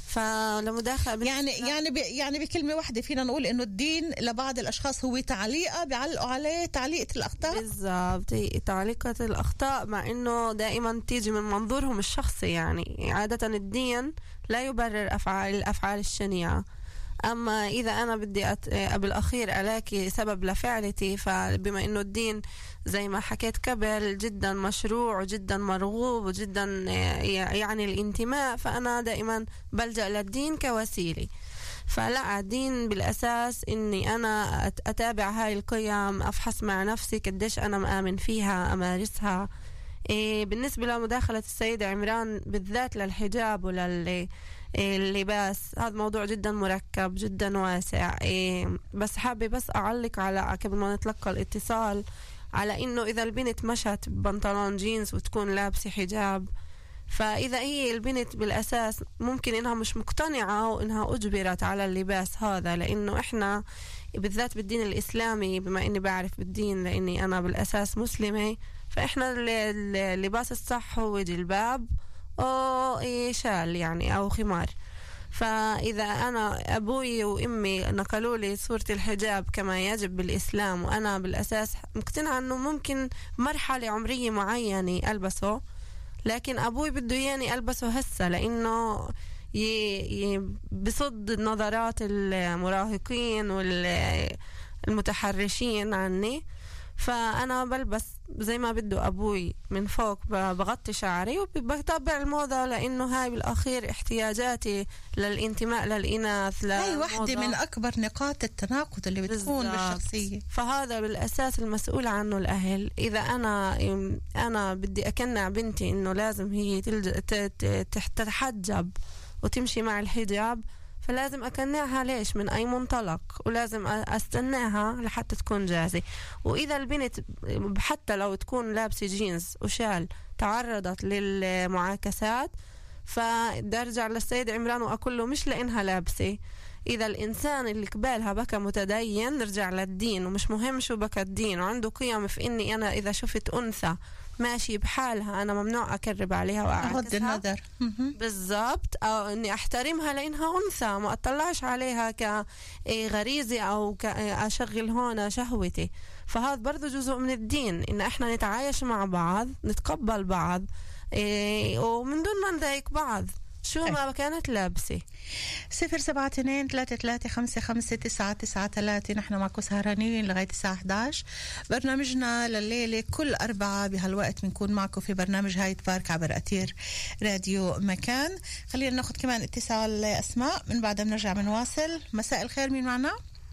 فلمداخلة يعني يعني ب... يعني بكلمة واحدة فينا نقول إنه الدين لبعض الأشخاص هو تعليقة بيعلقوا عليه تعليقة الأخطاء. بالضبط، تعليقة الأخطاء، مع إنه دائما تيجي من منظورهم الشخصي. يعني عادة الدين لا يبرر أفعال الأفعال الشنيعة، أما إذا أنا بدي أت... بالأخير ألاقي سبب لفعلتي، فبما إنه الدين زي ما حكيت قبل جدا مشروع وجدا مرغوب وجدا يعني الانتماء، فأنا دائما بلجأ للدين كوسيلة. فلا، الدين بالأساس إني أنا أتابع هاي القيم، أفحص مع نفسي قديش أنا مآمن فيها، أمارسها. إيه بالنسبة لمداخلة السيدة عمران بالذات للحجاب ولل اللباس، هذا موضوع جدا مركب جدا واسع. إيه بس حابة بس أعلق على قبل ما نتلقى الاتصال على إنه إذا البنت مشت ببنطلون جينز وتكون لابسة حجاب، فإذا هي البنت بالأساس ممكن إنها مش مقتنعة وإنها أجبرت على اللباس هذا، لأنه إحنا بالذات بالدين الإسلامي، بما إني بعرف بالدين لأني أنا بالأساس مسلمة، فإحنا اللباس الصح هو جلباب أو شال يعني أو خمار. فإذا أنا أبوي وإمي نقلوا لي صورة الحجاب كما يجب بالإسلام، وأنا بالأساس مقتنعة أنه ممكن مرحلة عمرية معينة ألبسه، لكن أبوي بده ياني ألبسه هسه، لأنه بصد نظرات المراهقين والمتحرشين عني. فأنا بلبس زي ما بده أبوي من فوق، بغطي شعري وبتابع الموضة، لأنه هاي بالأخير احتياجاتي للانتماء للإناث. هاي واحدة من أكبر نقاط التناقض اللي بتكون بالزبط. بالشخصية. فهذا بالأساس المسؤول عنه الأهل. إذا أنا أنا بدي أقنع بنتي إنه لازم هي تتحجب وتمشي مع الحجاب، فلازم أقنعها ليش من أي منطلق، ولازم أستناها لحتى تكون جاهزة. وإذا البنت حتى لو تكون لابسة جينز وشال تعرضت للمعاكسات، فبدي أرجع للسيد عمران وأقول له مش لأنها لابسة. إذا الإنسان اللي قبالها بكى متدين نرجع للدين، ومش مهم شو بكى الدين، وعنده قيم في إني أنا إذا شفت أنثى ماشي بحالها أنا ممنوع أقرب عليها وأعكسها النظر بالضبط، أو إني أحترمها لأنها أنثى، ما أطلعش عليها كغريزة أو كأشغل هون شهوتي. فهذا برضو جزء من الدين، إن إحنا نتعايش مع بعض، نتقبل بعض، إيه ومن دون ما نضايق بعض شو ما كانت لابسة. صفر سبعة اثنين ثلاثة ثلاثة خمسة خمسة تسعة تسعة ثلاثة. نحن معكم سهرانين لغاية الساعة إحدى عشر. برنامجنا لليلة كل أربعة بهالوقت بنكون معكم في برنامج هاي تبارك عبر أثير راديو مكان. خلينا ناخد كمان اتصال أسماء، من بعدها بنرجع بنواصل. مساء الخير، مين معنا؟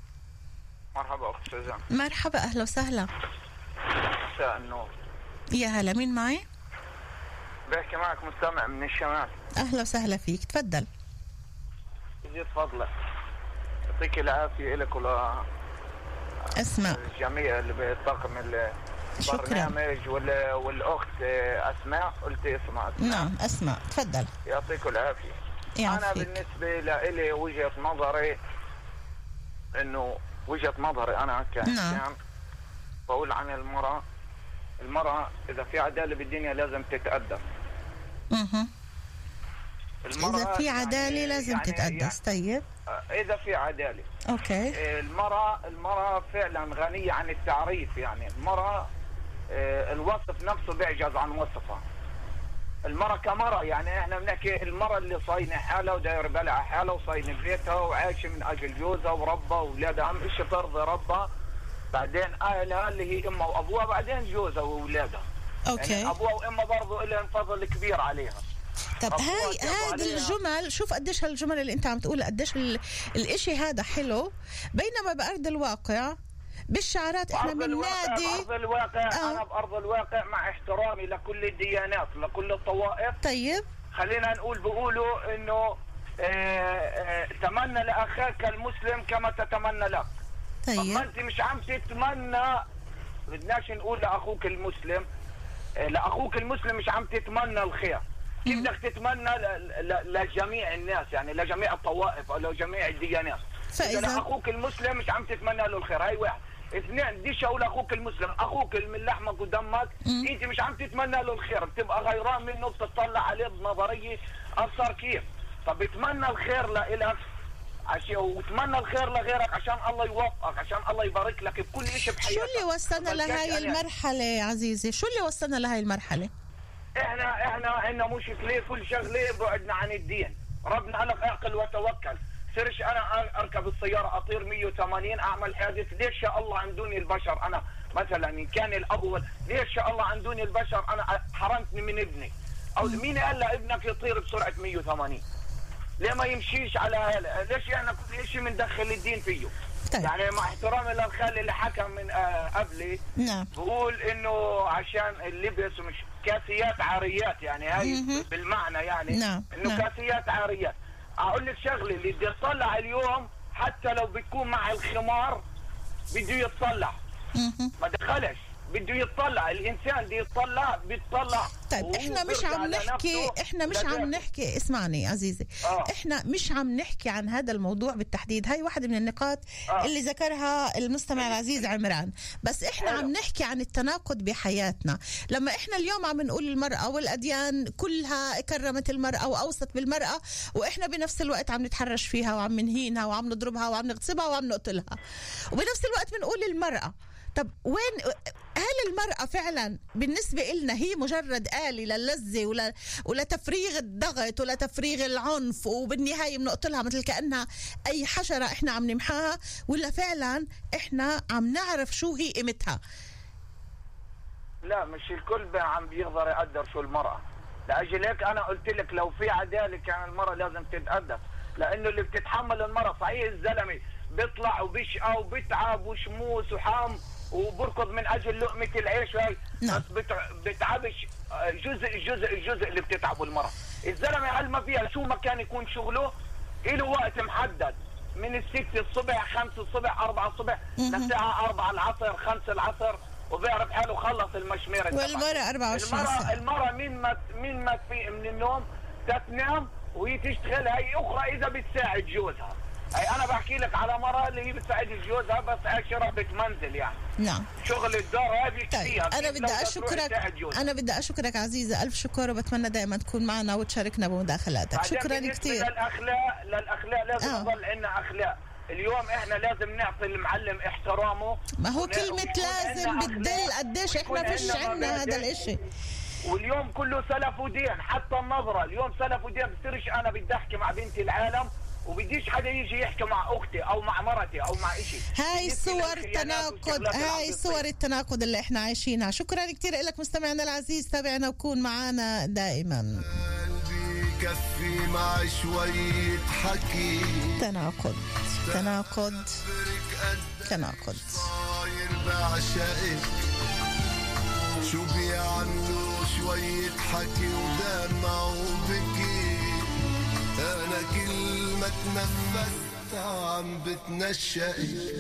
مرحبا أخت سوزان. مرحبا، أهلا وسهلا. مساء النور. يا هلا، مين معي؟ بحكي معك مستمع من الشمال. أهلا وسهلا فيك، تفضل. يزيد فضلك، يعطيك العافية لك ولا أسماء الجميع اللي بالطاقم البرنامج وال... والأخت أسماء. قلت اسمع أسماء. نعم أسماء، تفضل. يعطيك العافية. يعطيك. أنا بالنسبة لي وجهة نظري إنه وجهة نظري أنا كإنسان نعم. بقول عن المرأة، المرأة إذا في عدالة بالدنيا لازم تتقدم. اها إذا في عدالة يعني لازم يعني تتقدس. طيب إذا في عدالة أوكي. المرأة المرأة فعلا غنية عن التعريف. يعني المرأة الوصف نفسه بيعجز عن وصفها. المرأة كمرأة يعني احنا بنحكي المرأة اللي صاينة حالها وداير بالها حالها وصاينة بيتها وعايشة من أجل جوزها وربها وأولادها، أهم شيء ترضي ربها، بعدين أهلها اللي هي أمها وأبوها، بعدين جوزها وأولادها. أوكي. يعني أبوها وأمها برضو لهم فضل كبير عليها. طب هاي هذه الجمل، شوف قديش هالجمل اللي انت عم تقول قديش الاشي هذا حلو، بينما بأرض الواقع بالشعارات احنا من نادي بأرض الواقع آه. انا بأرض الواقع مع احترامي لكل الديانات لكل الطوائف. طيب خلينا نقول بيقولوا انه اه اه تمنى لاخاك المسلم كما تتمنى لك. طيب ما انت مش عم تتمنى، بدناش نقول لاخوك المسلم اه لاخوك المسلم مش عم تتمنى الخير، كيف بدك تتمنى لجميع الناس، يعني لجميع الطوائف او لجميع الديانات. فإذا لاخوك المسلم مش عم تتمنى له الخير، هاي واحد. اثنين، بديش اقول اخوك المسلم، اخوك من لحمك ودمك مم. انت مش عم تتمنى له الخير، بتبقى غيران منه، بتطلع عليه بنظريه ابصر كيف. طب اتمنى الخير لإلك عشان وتمنى الخير لغيرك عشان الله يوفقك، عشان الله يبارك لك بكل شيء بحياتك. شو اللي وصلنا لهي المرحله يا عزيزي؟ شو اللي وصلنا لهي المرحله؟ احنا احنا عندنا مشكله كل شغله بعدنا عن الدين. ربنا قال لك اعقل وتوكل. سرش انا اركب السياره اطير مية وثمانين اعمل حادث، ليش يا الله عن دوني البشر؟ انا مثلا ان كان الاول ليش يا الله عن دوني البشر انا حرمتني من ابني؟ او مين قال لابنك يطير بسرعه مية وثمانين؟ ليه ما يمشيش على هلا؟ ليش احنا كل شيء بندخل الدين فيه؟ طيب. يعني مع احترامي للخال اللي حكى من آه قبلي نعم بقول انه عشان اللبس مش كاسيات عاريات، يعني هاي مم. بالمعنى يعني نعم. انه نعم. كاسيات عاريات. اقول لك شغله، اللي بده يطلع اليوم حتى لو بتكون مع الخمار بده يتطلع، ما دخلش بده يتطلع، الانسان بده يتطلع بيتطلع. طيب احنا مش عم نحكي احنا مش عم نحكي اسمعني عزيزي آه. احنا مش عم نحكي عن هذا الموضوع بالتحديد، هاي واحدة من النقاط آه. اللي ذكرها المستمع العزيز عمران، بس احنا عم نحكي عن التناقض بحياتنا. لما احنا اليوم عم نقول المرأة والأديان كلها كرمت المرأة وأوصت بالمرأة، واحنا بنفس الوقت عم نتحرش فيها وعم نهينها وعم نضربها وعم نغتصبها وعم نقتلها، وبنفس الوقت بنقول المرأة طب وين هل المرأة فعلا بالنسبة إلنا هي مجرد آلة للذة ولا ولا تفريغ الضغط ولا تفريغ العنف وبالنهاية بنقتلها مثل كأنها أي حشرة إحنا عم نمحاها، ولا فعلا إحنا عم نعرف شو هي قيمتها؟ لا مش الكل عم بيقدر يقدر شو المرأة. لأجل هيك أنا قلت لك لو في عدالة كان المرأة لازم تتقدم، لأنه اللي بتتحمل المرأة صحيح الزلمة بيطلع وبيشقى وبيتعب وشموس وحام وبركض من اجل لقمه العيش هاي، بس بتعبش جزء جزء الجزء اللي بتتعبه المرأة. الزلمه علما فيها شو ما كان يكون شغله له وقت محدد من الستة الصبح خمسة الصبح أربعة الصبح للساعه أربعة العصر خمسة العصر، وبيعرف حاله خلص المشميره. والمرأة أربعة وعشرين ساعة. المرأة من ما من ما تفيق من النوم تتنام وهي تشتغل هي اخرى اذا بتساعد جوزها. أي أنا بحكي لك على مرة اللي هي بتساعد جوزها بس عشرة بتمنزل يعني. نعم. شغل الدار هاي بيكفيها. طيب أنا بدي أشكرك، أنا بدي أشكرك عزيزة ألف شكر، وبتمنى دائما تكون معنا وتشاركنا بمداخلاتك. شكرا كثير. للأخلاق للأخلاق لازم آه. يضل عندنا أخلاق. اليوم إحنا لازم نعطي المعلم احترامه. ما هو كلمة لازم بتدل قديش إحنا فيش عندنا هذا الإشي. واليوم كله سلف ودين، حتى النظرة اليوم سلف ودين. بصيرش أنا بدي أحكي مع بنتي العالم وبديش حدا يجي يحكي مع اختي او مع مرتي او مع اشي. هاي صور التناقض، هاي صور التناقض اللي احنا عايشينها. شكرا كتير لك مستمعنا العزيز، تابعنا وكون معنا دائما. قلبي كفي مع شوية حكي. تناقض تناقض تناقض. صاير بعشقك شو بيعملوا شوية حكي ودمع وبكي. أنا كل ما تنفست عم بتنشأك.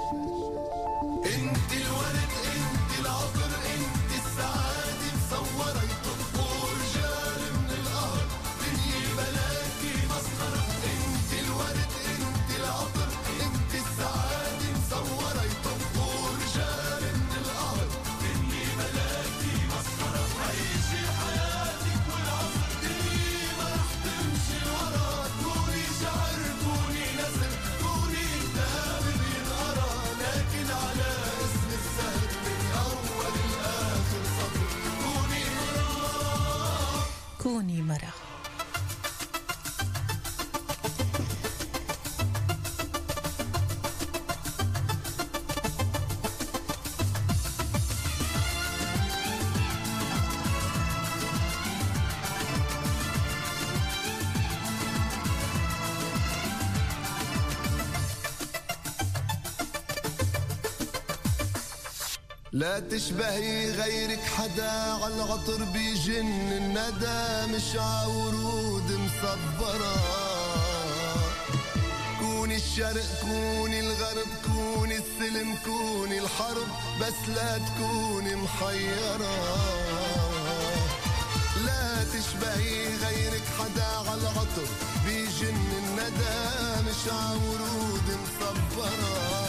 انت الورد انت العطر انت السعادة مصورة يطبقوا رجال من القهر دنيا بلاكي مسخرة. انت الورد انت العطر انت السعادة مصورة يطبقوا رجال من القهر دنيا بلاكي مسخرة. عيشي حياتك والعصر دنيا ما رح تمشي ورا. كوني شعر كوني نسر كوني كتاب بينقرا، لكن على اسم السهر من أول الآخر سطر. كوني مرة كوني مرة. لا تشبهي غيرك حدا عالعطر بيجن الندى مش عورود مصبرة. كوني الشرق كوني الغرب كوني السلم كوني الحرب بس لا تكوني محيرة. لا تشبهي غيرك حدا عالعطر بيجن الندى مش عورود مصبرة.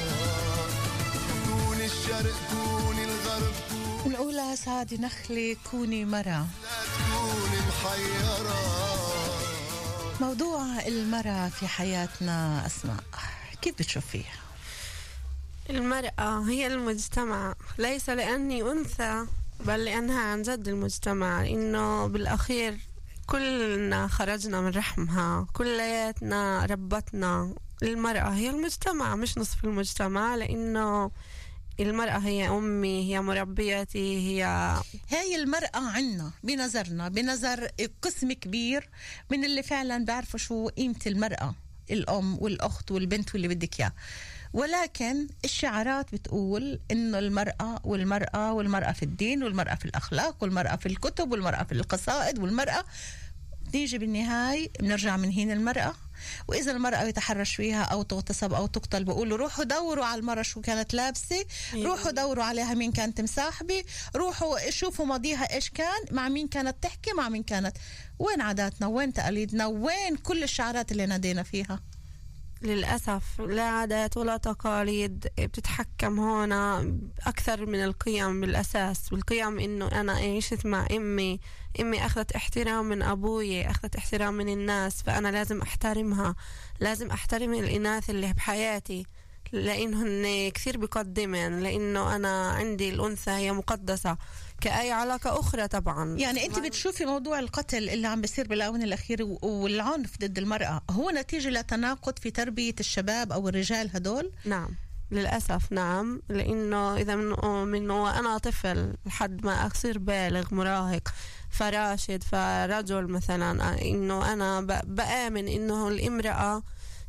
الشرق كوني الغرب الأولى سعد نخلي كوني مرة. لا تكوني محيرة. موضوع المرأة في حياتنا أسماء كيف بتشوفيها؟ المرأة هي المجتمع، ليس لأني أنثى بل لأنها عن جد المجتمع. إنه بالأخير كلنا خرجنا من رحمها، كلياتنا ربتنا. المرأة هي المجتمع مش نصف المجتمع، لأنه المرأة هي أمي هي مربيتي هي هاي المرأة عنا بنظرنا بنظر قسم كبير من اللي فعلا بيعرفوا شو قيمة المرأة، الأم والأخت والبنت واللي بدك إياه. ولكن الشعارات بتقول إنه المرأة والمرأة والمرأة في الدين والمرأة في الأخلاق والمرأة في الكتب والمرأة في القصائد والمرأة. نيجي بالنهاية بنرجع من هين المرأة، وإذا المرأة يتحرش فيها أو تغتصب أو تقتل بقولوا روحوا دوروا على المرأة شو كانت لابسة، روحوا دوروا عليها مين كانت مصاحبة، روحوا شوفوا ماضيها إيش كان، مع مين كانت تحكي، مع مين كانت. وين عاداتنا وين تقاليدنا وين كل الشعارات اللي نادينا فيها؟ للأسف لا عادات ولا تقاليد بتتحكم هنا أكثر من القيم. بالأساس والقيم إنه أنا عشت مع أمي، أمي أخذت احترام من أبوي، أخذت احترام من الناس، فأنا لازم أحترمها، لازم أحترم الإناث اللي بحياتي، لأنهن كثير بقدمن، لأنه أنا عندي الأنثى هي مقدسة كأي علاقة أخرى طبعا. يعني أنت بتشوفي موضوع القتل اللي عم بيصير بالآونة الأخيرة والعنف ضد المرأة هو نتيجة لتناقض في تربية الشباب أو الرجال هدول؟ نعم للأسف نعم، لأنه إذا من, من وأنا طفل لحد ما أصير بالغ مراهق فراشد فرجل مثلا، إنه أنا بآمن إنه الامرأة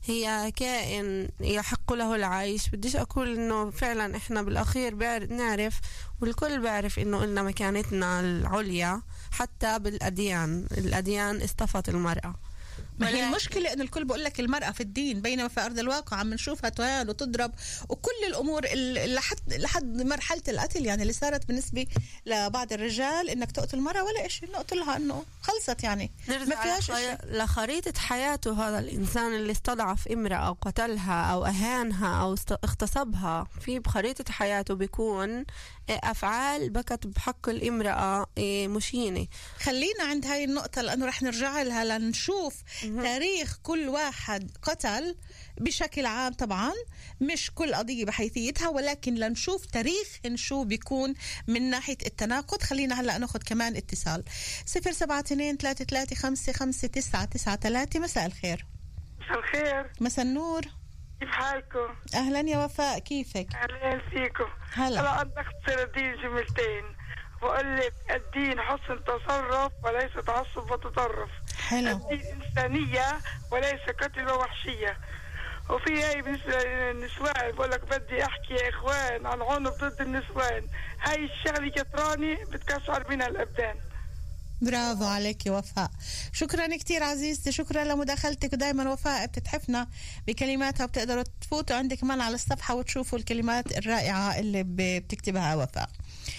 هي كائن يحق له العيش. بديش أقول إنه فعلا إحنا بالأخير نعرف والكل بعرف إنه إلنا مكانتنا العليا، حتى بالأديان الأديان اصطفت المرأة. ما هي المشكلة إنه الكل بقول لك المرأة في الدين، بينما في أرض الواقع عم نشوفها تهان وتضرب وكل الأمور لحد لحد مرحلة القتل يعني اللي صارت بالنسبة لبعض الرجال إنك تقتل المرأة ولا إشي، نقتلها إنه خلصت يعني ما فيهاش إشي. لخريطة حياته هذا الإنسان اللي استضعف امرأة أو قتلها أو أهانها أو اغتصبها، في بخريطة حياته بيكون أفعال بكت بحق الامرأة مشينة. خلينا عند هاي النقطة لأنه رح نرجع لها لنشوف تاريخ كل واحد قتل بشكل عام، طبعا مش كل قضية بحيثيتها، ولكن لنشوف تاريخ شو بيكون من ناحية التناقض. خلينا هلأ ناخد كمان اتصال صفر سبعة اثنين ثلاثة ثلاثة خمسة خمسة تسعة تسعة ثلاثة. مساء الخير. مساء الخير. مساء النور. كيف حالكم؟ أهلا يا وفاء، كيفك؟ أهلا فيكم. هلا. أنا بدي أختصر الدين جملتين، بقول لك الدين حسن تصرف وليس تعصب وتطرف. حلو. الدين إنسانية وليس قتل ووحشية. وفي هاي بالنسبة للنسوان بقول لك بدي أحكي يا إخوان عن عنف ضد النسوان، هاي الشغلة كتراني بتكسر منها الأبدان. برافو عليك يا وفاء، شكرا كتير عزيزتي، شكرا لمداخلتك. ودايما وفاء بتتحفنا بكلماتها، وبتقدروا تفوتوا عندك كمان على الصفحة وتشوفوا الكلمات الرائعة اللي بتكتبها وفاء.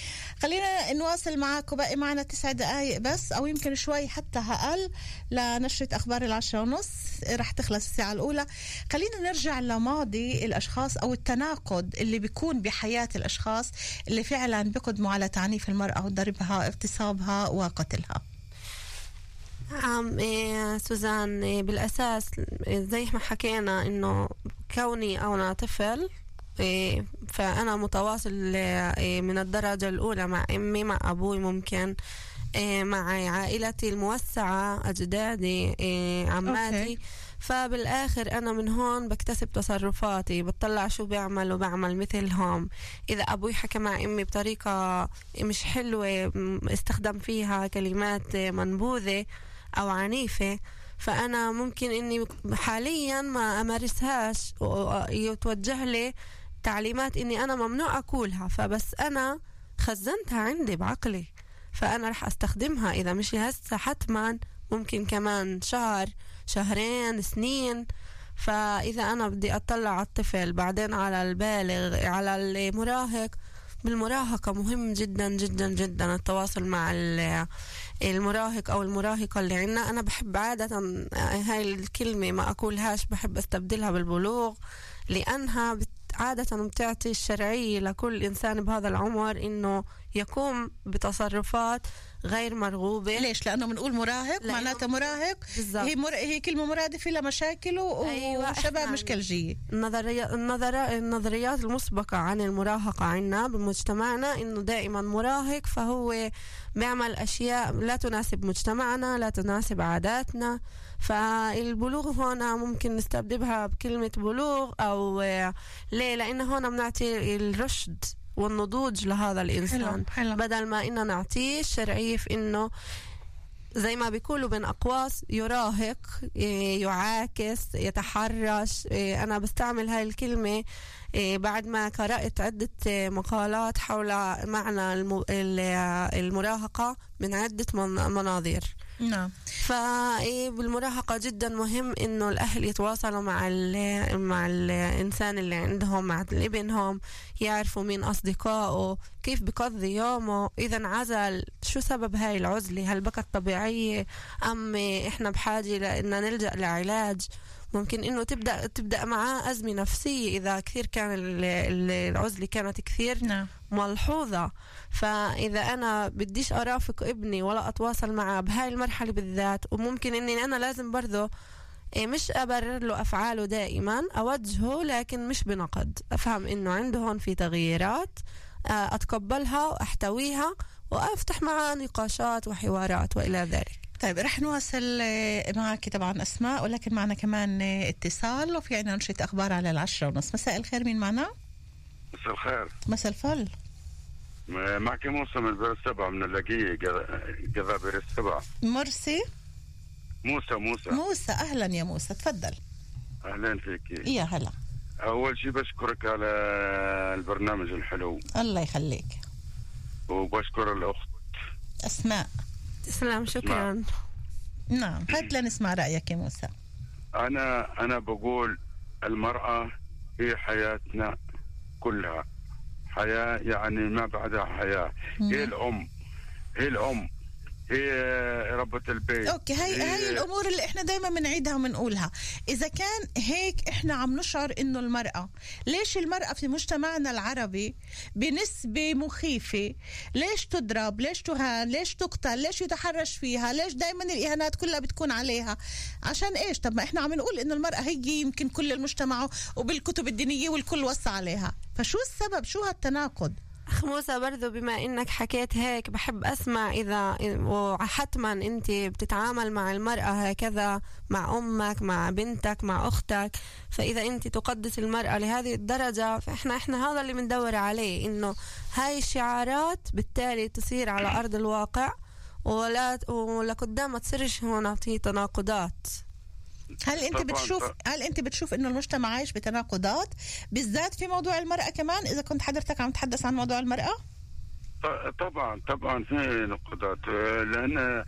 خلينا نواصل معاكم، باقي معنا تسع دقايق بس أو يمكن شوي حتى أقل لنشرة أخبار العشرة ونص، رح تخلص الساعة الأولى. خلينا نرجع لماضي الأشخاص أو التناقض اللي بيكون بحياة الأشخاص اللي فعلا بيقدموا على تعنيف المرأة وضربها اغتصابها وقتلها. عم إيه سوزان، إيه بالأساس زي ما حكينا إنه كوني أو أنا طفل إيه فأنا متواصل إيه من الدرجة الأولى مع أمي مع أبوي، ممكن إيه مع عائلتي الموسعة أجدادي إيه عماتي. أوكي. فبالآخر أنا من هون بكتسب تصرفاتي، بطلع شو بيعمل وبعمل مثلهم. إذا أبوي حكى مع أمي بطريقة مش حلوة استخدم فيها كلمات منبوذة أو عنيفة، فأنا ممكن إني حاليا ما أمارسهاش ويتوجه لي تعليمات إني أنا ممنوع أكلها، فبس أنا خزنتها عندي بعقلي فأنا رح أستخدمها. إذا مش هسه حتما ممكن كمان شهر شهرين سنين. فإذا أنا بدي أطلع على الطفل بعدين على البالغ على المراهق، بالمراهقة مهم جدا جدا جدا التواصل مع المراهق أو المراهقة اللي عنا. أنا بحب عادة هاي الكلمة ما أقولهاش، بحب أستبدلها بالبلوغ، لأنها عادة بتعطي الشرعية لكل إنسان بهذا العمر إنه يقوم بتصرفات غير مرغوبة. ليش؟ لأنه بنقول مراهق معناته مراهق بالزبط. هي, مر... هي كلمة مرادفة لمشاكله و... أيوة وشباب مشكلجية. النظريات النظر... النظريات المسبقة عن المراهقة عنا بمجتمعنا إنه دائما مراهق فهو بيعمل أشياء لا تناسب مجتمعنا لا تناسب عاداتنا. فالبلوغ هنا ممكن نستبدلها بكلمة بلوغ أو ليه، لأن هنا بنعطي الرشد والنضوج لهذا الإنسان. حلو. حلو. بدل ما إنه نعطيه الشرعية في إنه زي ما بيقولوا بين أقواس يراهق يعاكس يتحرش. أنا بستعمل هاي الكلمة بعد ما قرأت عدة مقالات حول معنى المراهقة من عدة مناظير. نعم. فبالمراهقة جدا مهم إنه الأهل يتواصلوا مع مع الإنسان اللي عندهم مع ابنهم، يعرفوا مين أصدقائه، كيف بقضي يومه، إذا انعزل شو سبب هاي العزلة، هل بكت طبيعية أم إحنا بحاجة لأن نلجأ لعلاج. ممكن إنه تبدأ تبدأ معاه أزمة نفسية إذا كثير كان العزلة كانت كثير نعم. ملحوظة. فإذا أنا بديش أرافق ابني ولا أتواصل معه بهاي المرحلة بالذات، وممكن إني أنا لازم برضو إيه مش أبرر له أفعاله دائما، أوجهه لكن مش بنقد، أفهم إنه عنده هون في تغييرات، أتقبلها وأحتويها وأفتح معه نقاشات وحوارات وإلى ذلك. طيب رح نواصل معك طبعا أسماء، ولكن معنا كمان اتصال وفي عنا نشرة أخبار على العشرة ونص. مساء الخير، مين معنا؟ مساء الخير. مساء الفل. معك موسى من بير السبع، من اللاقية قضاء بير السبع. مرسي؟ موسى موسى موسى أهلا يا موسى، تفضل. أهلا فيك. يا هلا. أول شيء بشكرك على البرنامج الحلو. الله يخليك. وبشكر الأخت أسماء. تسلم، شكرا. نعم، هات لنسمع رأيك يا موسى. أنا أنا بقول المرأة هي حياتنا كلها، حياة يعني ما بعدها حياة. مم. هي الأم، هي الأم هي ربة البيت. اوكي، هاي هي هاي الامور اللي احنا دايما بنعيدها وبنقولها. اذا كان هيك احنا عم نشعر انه المرأة، ليش المرأة في مجتمعنا العربي بنسبة مخيفة ليش تضرب، ليش تهان، ليش تقتل، ليش يتحرش فيها، ليش دايما الاهانات كلها بتكون عليها؟ عشان ايش؟ طب ما احنا عم نقول انه المرأة هي يمكن كل المجتمع وبالكتب الدينية والكل وصى عليها، فشو السبب؟ شو هالتناقض؟ أخ موسى، برضو بما إنك حكيت هيك بحب أسمع، إذا وحتما أنت بتتعامل مع المرأة هكذا، مع أمك، مع بنتك، مع أختك، فإذا أنت تقدس المرأة لهذه الدرجة، فإحنا إحنا هذا اللي بندور عليه، إنه هاي الشعارات بالتالي تصير على أرض الواقع، ولا ولقدام ما تصيرش هنا في تناقضات. هل انت بتشوف هل انت بتشوف انه المجتمع عايش بتناقضات بالذات في موضوع المرأة كمان، اذا كنت حضرتك عم تحدث عن موضوع المرأة؟ طبعا طبعا في نقطات، لان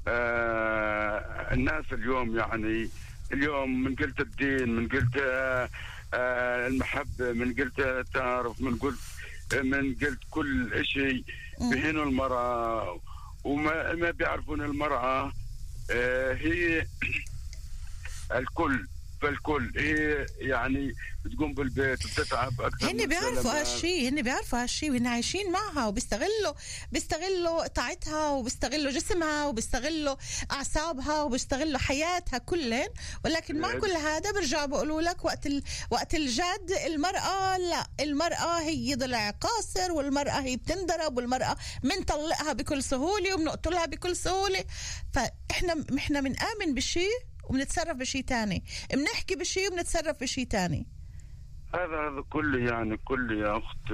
آه الناس اليوم يعني اليوم من قلت الدين، من قلت آه آه المحبة، من قلت التعارف، من قلت من قلت كل شيء بهنوا المرأة، وما ما بيعرفون المرأة آه هي الكل، فالكل هي يعني بتقوم بالبيت وبتتعب اكثر. هن بيعرفوا هالشيء، هن بيعرفوا هالشيء وهن عايشين معها، وبيستغلوا بيستغلوا طاعتها، وبيستغلوا جسمها، وبيستغلوا اعصابها، وبيستغلوا حياتها كلن، ولكن مع كل هذا برجعوا بيقولوا لك وقت ال... وقت الجد المرأة لا، المرأة هي ضلع قاصر، والمرأة هي بتنضرب، والمرأة منطلقها بكل سهولة وبنقتلها بكل سهولة. فاحنا احنا بنآمن بشيء وبنتصرف بشيء تاني، بنحكي بشيء وبنتصرف بشيء تاني. هذا هذا كله يعني كل يا أخت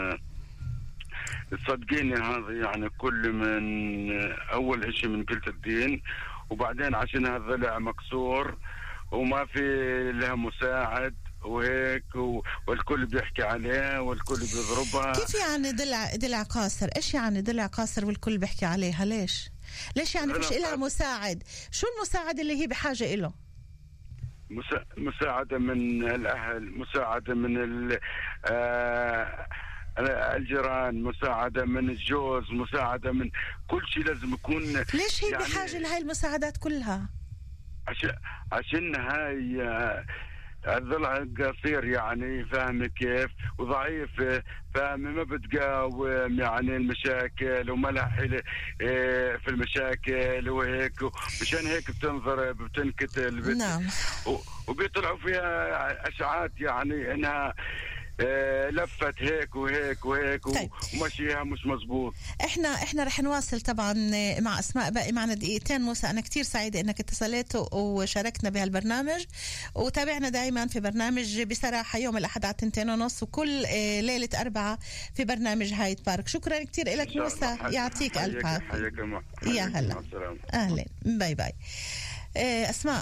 صدقيني، هذا يعني كل من أول إشي من قلت الدين، وبعدين عشان هذا ضلع مكسور وما في لها مساعد وهيك، والكل بيحكي عليها والكل بيضربها. كيف يعني ضلع ضلع قاصر؟ إيش يعني ضلع قاصر والكل بيحكي عليها؟ ليش؟ ليش يعني مش إلها مساعد؟ شو المساعد اللي هي بحاجة إله؟ مسا... مساعدة من الأهل، مساعدة من آه... الجيران، مساعدة من الجوز، مساعدة من كل شيء لازم يكون. ليش هي يعني بحاجة لهاي المساعدات كلها؟ عشان عشان هاي آه... الضلع قصير يعني، فاهم كيف، وضعيف، فاهم، ما بتقاوم يعني المشاكل، وما لها حيلة في المشاكل وهيك، مشان هيك بتنضرب، بتنقتل. نعم. وبيطلعوا فيها اشاعات يعني انها لفت هيك وهيك وهيك. طيب. ومشيها مش مزبوط. احنا احنا رح نواصل طبعا مع اسماء، باقي معنا دقيقتين. موسى، انا كتير سعيده انك اتصلت وشاركنا بهالبرنامج، وتابعنا دائما في برنامج بصراحه يوم الاحد على تنتين ونص، وكل ليله اربعه في برنامج هايد بارك. شكرا كتير لك موسى، يعطيك الف عافيه. يا هلا، اهلا، باي باي. اسماء،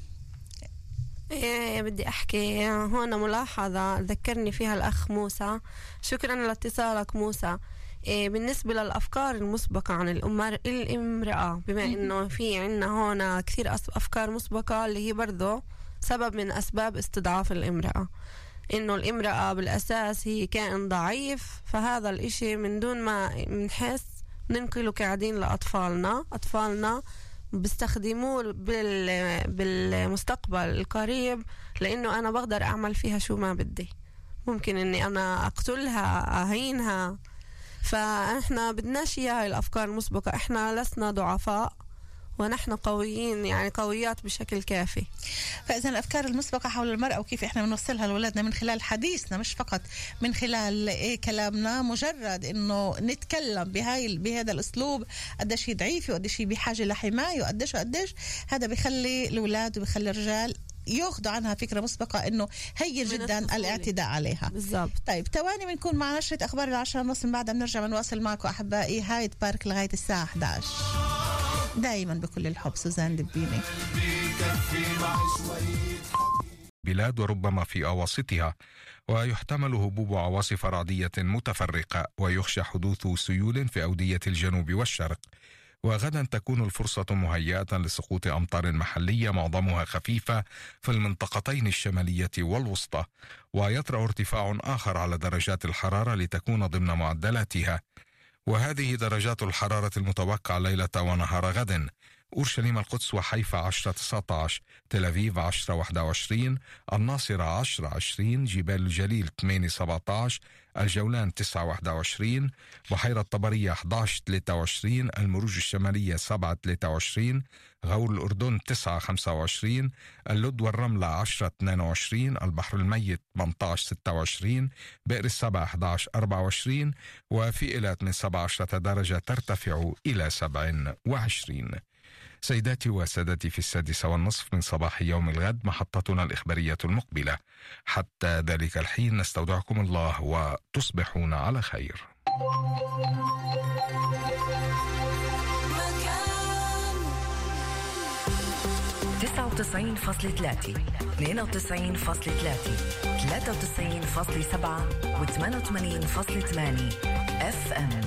إيه بدي أحكي هون ملاحظة ذكرني فيها الأخ موسى، شكرا لاتصالك موسى. إيه بالنسبة للأفكار المسبقة عن الأمر الامرأة، بما إنه في عنا هون كثير أفكار مسبقة اللي هي برضو سبب من أسباب استضعاف الامرأة، إنه الامرأة بالأساس هي كائن ضعيف، فهذا الإشي من دون ما نحس ننقله قاعدين لأطفالنا. أطفالنا بيستخدموه بالمستقبل القريب، لأنه أنا بقدر أعمل فيها شو ما بدي، ممكن أني أنا أقتلها، أهينها. فإحنا بدناش إياها الأفكار المسبقة، إحنا لسنا ضعفاء، ونحن قويين، يعني قويات بشكل كافي. فإذا الأفكار المسبقة حول المرأة وكيف إحنا بنوصلها لأولادنا من خلال حديثنا، مش فقط من خلال إيه كلامنا، مجرد إنه نتكلم بهاي بهذا الأسلوب قديش هي ضعيفة وقديش هي بحاجة لحماية وقديش وقديش، هذا بيخلي الأولاد وبيخلي الرجال ياخذوا عنها فكرة مسبقة إنه هي جدا الاعتداء عليها. بالضبط. طيب تواني بنكون مع نشرة أخبار العشرة ونص، من بعدها بنرجع بنواصل معكم أحبائي هايد بارك لغاية الساعة إحدى عشر. دائما بكل الحب سوزان دبيني. بلاد وربما في أواسطها، ويحتمل هبوب عواصف رعدية متفرقة، ويخشى حدوث سيول في أودية الجنوب والشرق. وغدا تكون الفرصة مهيئة لسقوط أمطار محلية معظمها خفيفة في المنطقتين الشمالية والوسطى، ويطرأ ارتفاع آخر على درجات الحرارة لتكون ضمن معدلاتها. وهذه درجات الحرارة المتوقعة ليلة ونهار غد: أورشليم القدس وحيفا عشرة تسعة عشر، تل أبيب عشرة واحد وعشرين، الناصرة عشرة عشرين، جبال الجليل ثمانية سبعة عشر، الجولان تسعة واحد وعشرين، بحيرة طبرية أحد عشر ثلاثة وعشرين، المروج الشمالية سبعة ثلاثة وعشرين، غور الأردن تسعة خمسة وعشرين، اللد والرملة عشرة اثنين وعشرين، البحر الميت ثمانية عشر ستة وعشرين، بئر السبع أحد عشر أربعة وعشرين، وفي إيلات من سبعة عشر درجة ترتفع إلى سبعة وعشرين. سيداتي وسادتي، في السادسة والنصف من صباح يوم الغد محطتنا الإخبارية المقبلة. حتى ذلك الحين نستودعكم الله وتصبحون على خير. تسعة وتسعين فاصلة ثلاثة، اثنين وتسعين فاصلة ثلاثة، ثلاثة وتسعين فاصلة سبعة وثمانية وثمانين فاصلة ثمانية اف ام.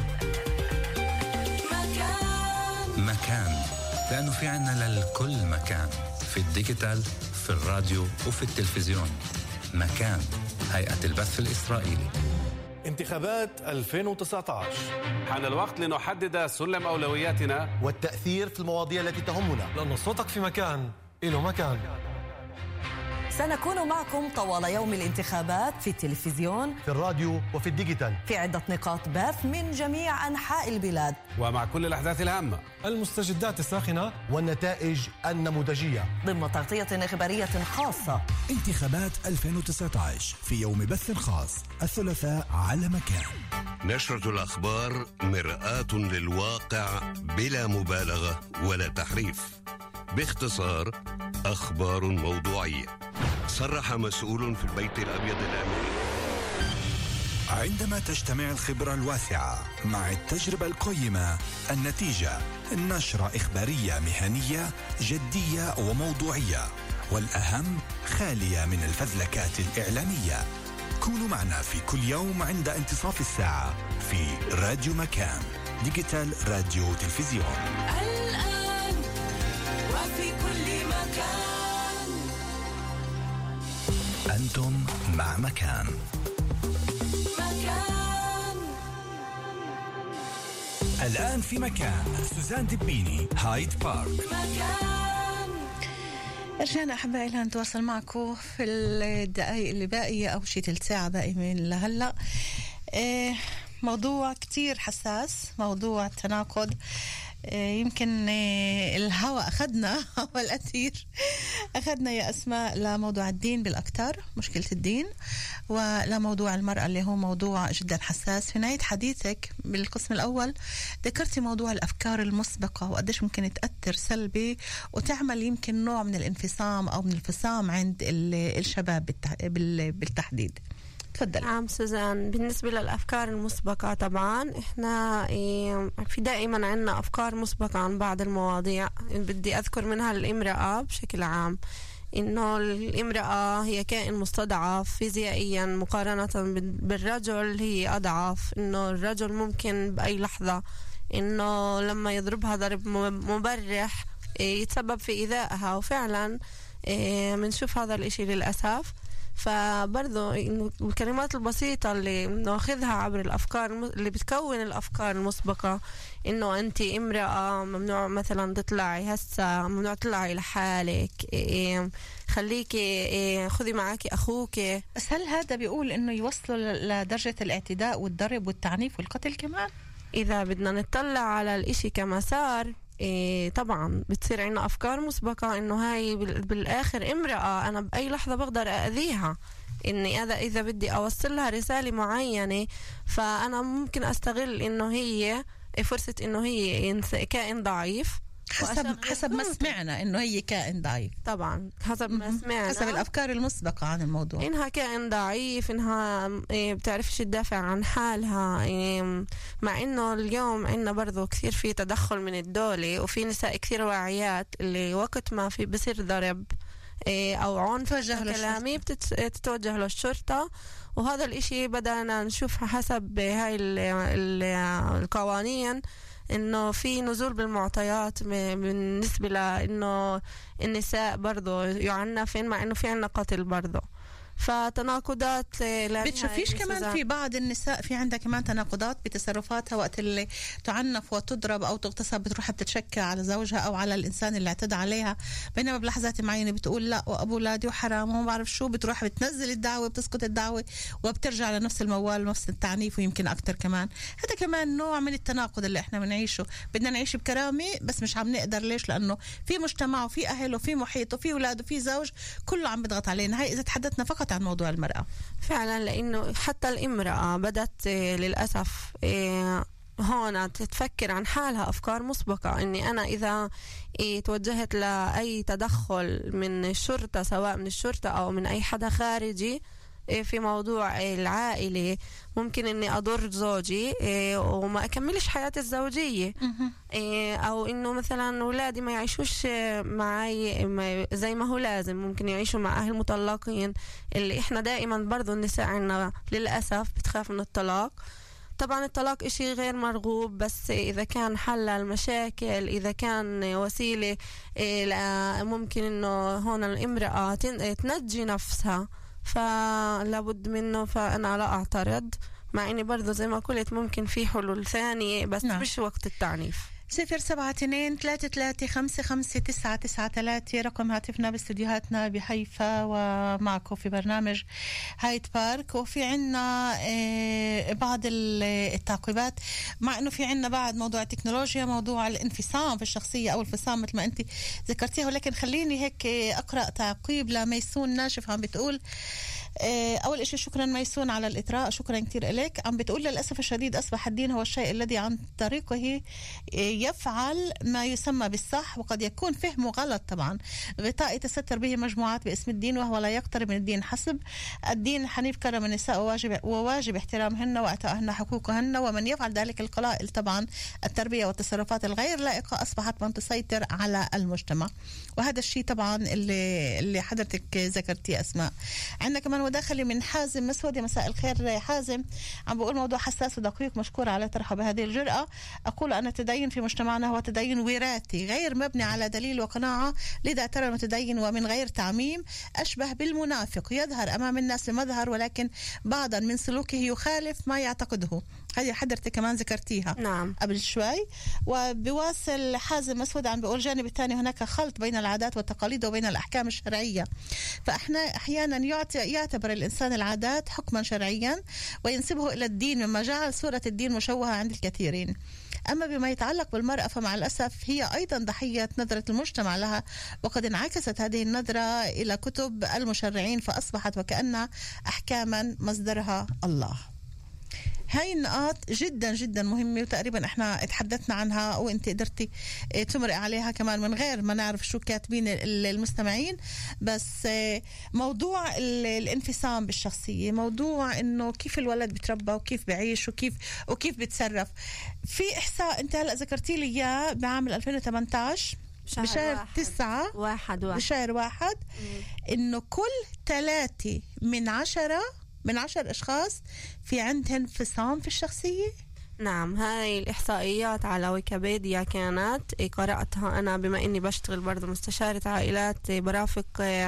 مكان، لأنه في عنا للكل مكان، في الديجيتال، في الراديو وفي التلفزيون. مكان، هيئة البث الإسرائيلي. انتخابات ألفين وتسعة عشر، حان الوقت لنحدد سلم أولوياتنا والتأثير في المواضيع التي تهمنا، لأن صوتك في مكان إله مكان. سنكون معكم طوال يوم الانتخابات في التلفزيون، في الراديو وفي الديجيتال، في عدة نقاط بث من جميع أنحاء البلاد، ومع كل الأحداث الهامة، المستجدات الساخنة والنتائج النموذجية، ضمن تغطية إخبارية خاصة. انتخابات ألفين وتسعة عشر في يوم بث خاص الثلاثاء على مكان. نشرة الأخبار مرآة للواقع بلا مبالغة ولا تحريف. باختصار، أخبار موضوعية. صرح مسؤول في البيت الأبيض الأمريكي: عندما تجتمع الخبرة الواسعة مع التجربة القيمة، النتيجة نشرة إخبارية مهنية جدية وموضوعية، والأهم خالية من الفزلكات الإعلامية. كونوا معنا في كل يوم عند انتصاف الساعة في راديو مكان، ديجيتال راديو تلفزيون. الآن وفي كل مكان أنتم مع مكان. مكان الآن في مكان سوزان دبيني، هايد بارك. مكان. رجعنا أحبائي لنتواصل معكم في الدقائق اللي باقية أو شي تلت ساعة باقي من لهلأ. إيه موضوع كتير حساس، موضوع التناقض. يمكن الهواء أخذنا أول أثير أخذنا يا أسماء لموضوع الدين بالأكتر، مشكلة الدين، ولموضوع المرأة اللي هو موضوع جدا حساس. في نهاية حديثك بالقسم الأول ذكرتي موضوع الأفكار المسبقة وقديش ممكن تأثر سلبي وتعمل يمكن نوع من الانفصام أو من الفصام عند الشباب بالتحديد. تفضل. نعم سوزان، بالنسبة للأفكار المسبقة طبعا إحنا في دائما عنا أفكار مسبقة عن بعض المواضيع. بدي أذكر منها الامرأة بشكل عام، إنه الامرأة هي كائن مستضعف فيزيائيا مقارنة بالرجل، هي أضعف. إنه الرجل ممكن بأي لحظة إنه لما يضربها ضرب مبرح يتسبب في إيذائها، وفعلا منشوف هذا الإشي للأسف. فبرضو الكلمات البسيطة اللي ناخذها عبر الأفكار اللي بتكون الأفكار المسبقة، إنه أنت امرأة ممنوع مثلا تطلعي هسا، ممنوع تطلعي لحالك، إيه خليكي إيه خذي معاكي أخوك. بس هل هذا بيقول إنه يوصلوا لدرجة الاعتداء والضرب والتعنيف والقتل كمان؟ إذا بدنا نطلع على الإشي كمسار، إيه طبعا بتصير عنا أفكار مسبقة إنه هاي بالآخر امرأة أنا بأي لحظة بقدر أأذيها، إني هذا إذا بدي أوصل لها رسالة معينة فأنا ممكن أستغل إنه هي فرصة إنه هي كائن ضعيف حسب حسب ما سمعنا إنه هي كائن ضعيف. طبعا حسب ما سمعنا، حسب الأفكار المسبقة عن الموضوع، إنها كائن ضعيف، إنها بتعرفش تدافع عن حالها. مع إنه اليوم عنا برضو كثير في تدخل من الدولة، وفي نساء كثير واعيات اللي وقت ما في بصير ضرب أو عنف كلامي بتتوجه للشرطة. وهذا الإشي بدأنا نشوف حسب هاي القوانين إنه في نزول بالمعطيات بالنسبة لإنه النساء برضو يعنفن، مع إنه في عنا قتل برضو. فتناقضات. بتشوفيش كمان في بعض النساء في عندها كمان تناقضات بتصرفاتها وقت اللي تعنف وتضرب أو تغتصب، بتروح تتشكى على زوجها أو على الإنسان اللي اعتدى عليها، بينما بلحظات معينة بتقول لا وأبو ولادي وحرام وما بعرف شو، بتروح بتنزل الدعوة، بتسقط الدعوة وبترجع لنفس الموال ونفس التعنيف ويمكن أكتر كمان. هذا كمان نوع من التناقض اللي احنا بنعيشه. بدنا نعيش بكرامة بس مش عم نقدر. ليش؟ لأنه في مجتمع وفي أهل وفي محيط وفي أولاد وفي زوج كله عم بيضغط علينا. هاي إذا تحدثنا فقط عن موضوع المرأة. فعلا، لأنه حتى الامرأة بدأت للأسف هون تتفكر عن حالها أفكار مسبقة، إني أنا إذا توجهت لأي تدخل من الشرطة، سواء من الشرطة أو من أي حدا خارجي في موضوع العائلة، ممكن إني أضر زوجي وما أكملش حياتي الزوجية، أو إنه مثلا أولادي ما يعيشوش معي زي ما هو لازم، ممكن يعيشوا مع أهل مطلقين، اللي إحنا دائما برضو النساء عنا للأسف بتخاف من الطلاق. طبعا الطلاق إشي غير مرغوب، بس إذا كان حل المشاكل، إذا كان وسيلة ممكن إنه هون الامرأة تنجي نفسها، فلابد منه. فأنا لا أعترض، مع إني برضو زي ما قلت ممكن في حلول ثانية، بس نعم. مش وقت التعنيف. صفر سبعة اثنين ثلاثة ثلاثة خمسة خمسة تسعة تسعة ثلاثة رقم هاتفنا باستديوهاتنا بحيفا، ومعكم في برنامج هايد بارك. وفي عنا بعض التعقيبات، مع انه في عنا بعد موضوع التكنولوجيا، موضوع الانفصام في الشخصية او الفصام مثل ما انت ذكرتيها. ولكن خليني هيك اقرأ تعقيب لميسون ناشف، عم بتقول أول إشي شكرا ميسون على الإطراء، شكرا كتير إليك. عم بتقول للأسف الشديد أصبح الدين هو الشيء الذي عن طريقه يفعل ما يسمى بالصح، وقد يكون فهمه غلط. طبعا غطاء يتستر به مجموعات باسم الدين، وهو لا يقترب من الدين حسب. الدين حنيف كرم النساء وواجب, وواجب احترامهن وإعطائهن حقوقهن، ومن يفعل ذلك القلائل. طبعا التربية والتصرفات الغير لائقة أصبحت من تسيطر على المجتمع، وهذا الشيء طبعا اللي, اللي حضرتك ذكرتيه أسماء. عندنا كمان وداخلي من حازم مسود. مساء الخير حازم، عم بقول موضوع حساس ودقيق، مشكور على طرحه بهذه الجرأة. أقول أن التدين في مجتمعنا هو تدين وراثي غير مبني على دليل وقناعة، لذا ترى المتدين ومن غير تعميم أشبه بالمنافق، يظهر أمام الناس بمظهر ولكن بعضا من سلوكه يخالف ما يعتقده. هذه حضرتك كمان ذكرتيها نعم قبل شوي. وبواصل حازم مسود عم بيقول الجانب الثاني هناك خلط بين العادات والتقاليد وبين الأحكام الشرعية، فإحنا أحيانا يعطي يعتبر الإنسان العادات حكما شرعيا وينسبه إلى الدين، مما جعل صورة الدين مشوهة عند الكثيرين. أما بما يتعلق بالمرأة فمع الأسف هي أيضا ضحية نظرة المجتمع لها، وقد انعكست هذه النظرة إلى كتب المشرعين فأصبحت وكأنها أحكاما مصدرها الله. هاي النقاط جدا جدا مهمة، وتقريبا احنا اتحدثنا عنها وانت قدرتي تمرق عليها كمان من غير ما نعرف شو كاتبين المستمعين. بس موضوع الانفصام بالشخصية، موضوع انه كيف الولد بتربى وكيف بعيش وكيف وكيف بتصرف. في احصاء انت هلا ذكرتي لي اياه بعام ألفين وثمانية عشر بشهر بشهر واحد. تسعة واحد واحد. بشهر واحد انه كل ثلاثة من عشرة من عشر أشخاص في عندهم انفصام في الشخصية. نعم، هاي الإحصائيات على ويكيبيديا كانت قرأتها أنا بما إني بشتغل برضو مستشارة عائلات، برافق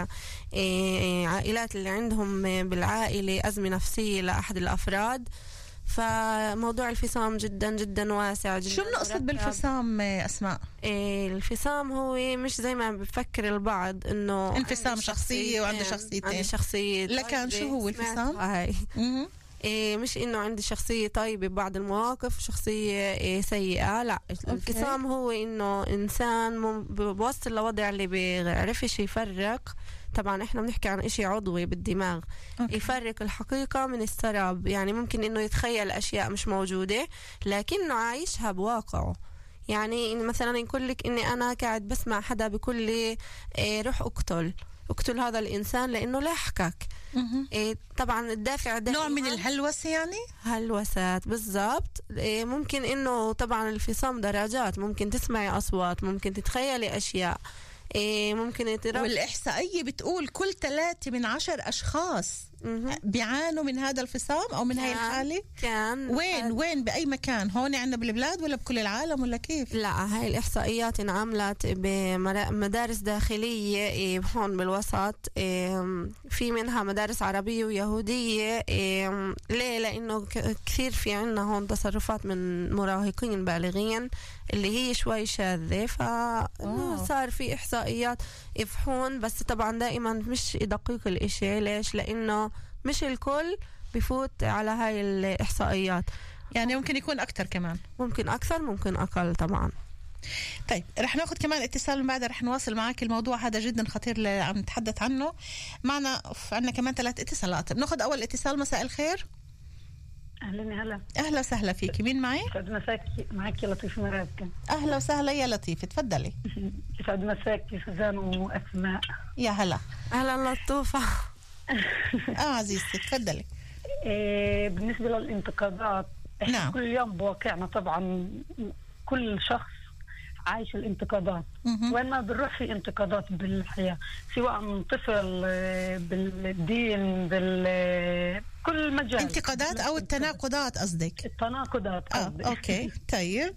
عائلات اللي عندهم بالعائلة أزمة نفسية لأحد الأفراد. فموضوع الفصام جدا جدا واسع جدا. شو بنقصد بالفصام أسماء؟ إيه الفصام هو مش زي ما بفكر البعض انه انفصام شخصية وعنده شخصيتين. عندي شخصية. لكن شو هو الفصام؟ هاي إيه مش إنه عندي شخصية طيبة ببعض المواقف شخصية إيه سيئة. لا الانفصام هو إنه إنسان بوصل لوضع اللي بيعرفش يفرق. طبعا إحنا بنحكي عن إشي عضوي بالدماغ. أوكي. يفرق الحقيقة من السراب. يعني ممكن إنه يتخيل أشياء مش موجودة لكنه عايشها بواقعه. يعني إن مثلا يقول لك إني أنا قاعد بسمع حدا بيقول لي إيه روح اقتل اقتل هذا الإنسان لأنه لاحقك. إيه طبعا الدافع ده نوع من الهلوسة. يعني هلوسات بالضبط. إيه ممكن إنه طبعا الانفصام درجات. ممكن تسمعي أصوات ممكن تتخيلي أشياء. إيه ممكن يتربط. والإحصائية بتقول كل ثلاثة من عشر أشخاص بيعانوا من هذا الانفصام أو من هاي الحالة. كان وين وين بأي مكان؟ هون عندنا بالبلاد ولا بكل العالم ولا كيف؟ لا هاي الإحصائيات انعملت بمدارس داخلية هون بالوسط. في منها مدارس عربية ويهودية. ليه؟ لأنه كثير في عنا هون تصرفات من مراهقين بالغين اللي هي شوي شاذة فصار في إحصائيات يفحون. بس طبعا دائما مش دقيق الإشي. ليش؟ لأنه مش الكل بفوت على هاي الإحصائيات. يعني ممكن يكون أكتر كمان. ممكن أكثر ممكن أقل طبعا. طيب رح ناخد كمان اتصال من بعد رح نواصل معك الموضوع هذا جدا خطير اللي عم نتحدث عنه. معنا عندنا كمان ثلاث اتصالات. بناخد أول اتصال. مساء الخير. أهلا هلا. أهلا وسهلا فيكي. مين معي؟ يسعد مساكي. معك لطيف مرابكة. أهلا وسهلا يا لطيف تفضلي. يسعد مساكي سوزان وأسماء. يا هلا. أهلا لطوفة. اه عزيزتي تفضلي. إيه بالنسبة للانتقادات احنا نعم. كل يوم بواقعنا طبعا كل شخص عايش الانتقادات. وين ما بنروح في انتقادات بالحياة سواء من طفل بالدين بكل مجال. انتقادات او التناقضات قصدك؟ التناقضات قصدي. اه اوكي طيب.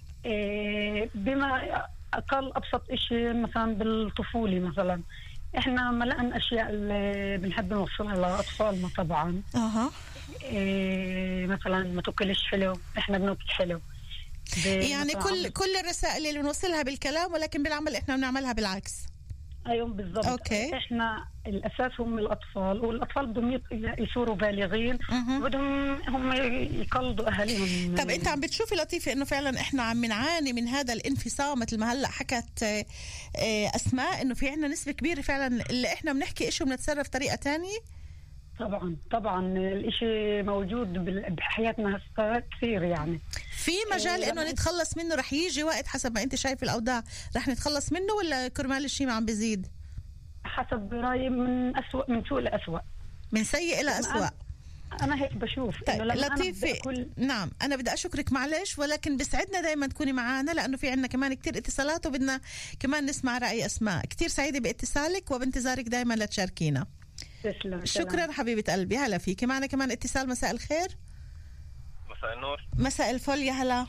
إيه بما اقل ابسط اشي مثلا بالطفولة مثلا احنا ملأنا اشياء اللي بنحب نوصلها لاطفالنا طبعا. اها إيه مثلا ما تاكلش حلو احنا بناكل حلو. يعني كل كل الرسائل اللي بنوصلها بالكلام ولكن بالعمل احنا بنعملها بالعكس. ايوه بالضبط. أوكي. احنا الاساس هم الاطفال والاطفال بدهم يصيروا بالغين بدهم هم يقلدوا اهاليهم. طب انت عم بتشوفي لطيفه انه فعلا احنا عم نعاني من هذا الانفصام مثل ما هلا حكت اسماء انه في عندنا نسبه كبيره فعلا اللي احنا بنحكي شيء وبنتصرف طريقه تانية؟ طبعا طبعا الاشي موجود بحياتنا هسه كثير. يعني في مجال انه نتخلص منه. رح يجي وقت حسب ما انت شايف الاوضاع رح نتخلص منه ولا كرمال الشيء ما عم بيزيد؟ حسب رايي من أسوأ من سوء لأسوأ. من سيء الى أسوأ. انا هيك بشوف. طيب لطيفة أكل... نعم انا بدي اشكرك معلش ولكن بسعدنا دائما تكوني معنا لانه في عندنا كمان كتير اتصالات وبدنا كمان نسمع راي اسماء. كتير سعيده باتصالك وبانتظارك دائما لتشاركينا. تسلم. شكرا سلام. حبيبه قلبي. هلا فيكي. معنا كمان اتصال. مساء الخير. مساء النور. مساء الفل. يا هلا.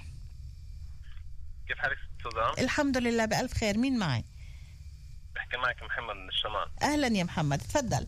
كيف حالك سوزان؟ الحمد لله بألف خير. مين معي؟ بحكي معك محمد من الشمال. اهلا يا محمد تفضل.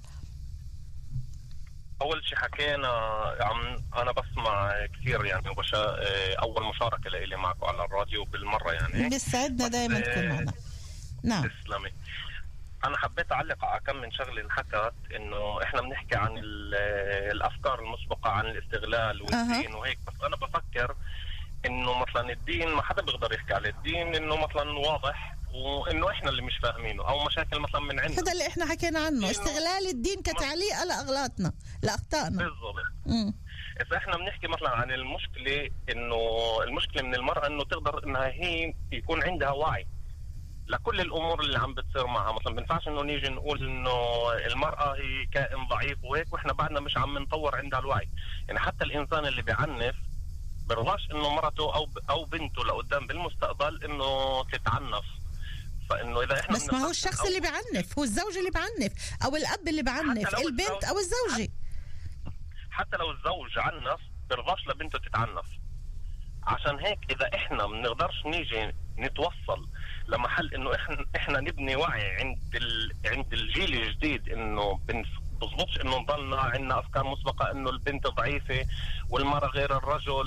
اول شيء حكينا عم انا بسمع كثير يعني وبشا... اول مشاركه لي معكم على الراديو بالمره يعني بيسعدنا دائما تكون معنا. نعم تسلمي. انا حبيت اعلق على كم من شغله انحكت انه احنا بنحكي عن الافكار المسبقه عن الاستغلال والدين. أه. وهيك بس انا بفكر انه مثلا الدين ما حدا بيقدر يحكي على الدين انه مثلا واضح وانه احنا اللي مش فاهمينه او مشاكل مثلا من عندنا. هذا اللي احنا حكينا عنه استغلال الدين كتعليق لاغلاطنا لاخطائنا. بالضبط. اذا احنا بنحكي مثلا عن المشكله انه المشكله من المراه انه تقدر انها هي يكون عندها وعي لكل الامور اللي عم بتصير معها. مثلا بنفعش انه نيجي نقول انه المراه هي كائن ضعيف وهيك واحنا بعدنا مش عم نطور عندها الوعي. يعني حتى الانسان اللي بيعنف برضاش انه مرته او او بنته لقدام بالمستقبل انه تتعنف. فانه اذا احنا بس ما هو الشخص اللي بيعنف هو الزوج اللي بيعنف او الاب اللي بيعنف البنت او الزوجه. حتى لو الزوج عنف برضاش لبنته تتعنف. عشان هيك اذا احنا ما بنقدرش نيجي نتوصل لمحل انه احنا احنا نبني وعي عند ال... عند الجيل الجديد انه بنظبطش انه نضلنا عندنا افكار مسبقه انه البنت ضعيفه والمراه غير الرجل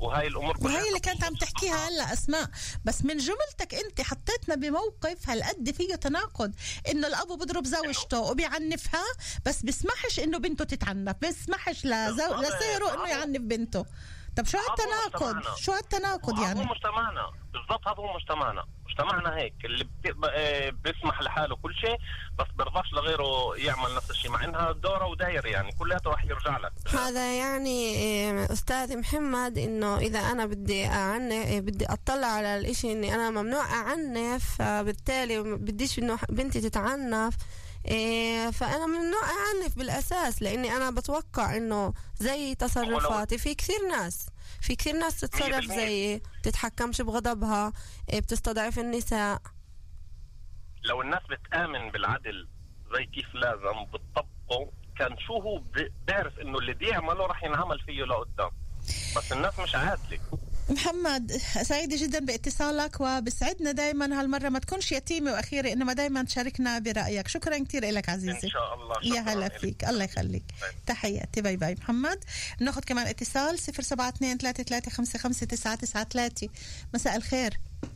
وهاي الامور كلها وهي اللي كانت عم تحكيها هلا اسماء. بس من جملتك انت حطيتنا بموقف هالقد فيه تناقض، انه الابو بضرب زوجته وبيعنفها بس بيسمحش انه بنته تتعنف، بيسمحش لزو... لسيره انه يعنف بنته. طب شو هالتناقض؟ شو هالتناقض يعني؟ هو مجتمعنا بالضبط، هذا هو مجتمعنا مجتمعنا هيك اللي بيسمح لحاله كل شيء بس برضاش لغيره يعمل نفس الشيء، مع انها دوره وداير يعني كلياته راح يرجع لك. هذا يعني استاذ محمد انه اذا انا بدي اعنف بدي اطلع على الاشي اني انا ممنوع اعنف، فبالتالي بديش انه بنتي تتعنف، إيه فأنا ممنوع أعنف بالأساس، لأني أنا بتوقع إنه زي تصرفاتي في كثير ناس في كثير ناس تتصرف زي تتحكمش بغضبها، إيه بتستضعف النساء. لو الناس بتآمن بالعدل زي كيف لازم بتطبقه كان شو هو بيعرف إنه اللي بيعمله رح ينعمل فيه لقدام، بس الناس مش عادلة. محمد سعيدة جدا باتصالك، وبسعدنا دايما هالمرة ما تكونش يتيمة وأخيرة، إنما دايما تشاركنا برأيك. شكرا كتير لك عزيزي. إن شاء الله. يا هلا فيك، الله يخليك. تحياتي، باي باي محمد. ناخذ كمان اتصال صفر سبعة اثنين ثلاثة ثلاثة خمسة خمسة تسعة تسعة ثلاثة. مساء الخير.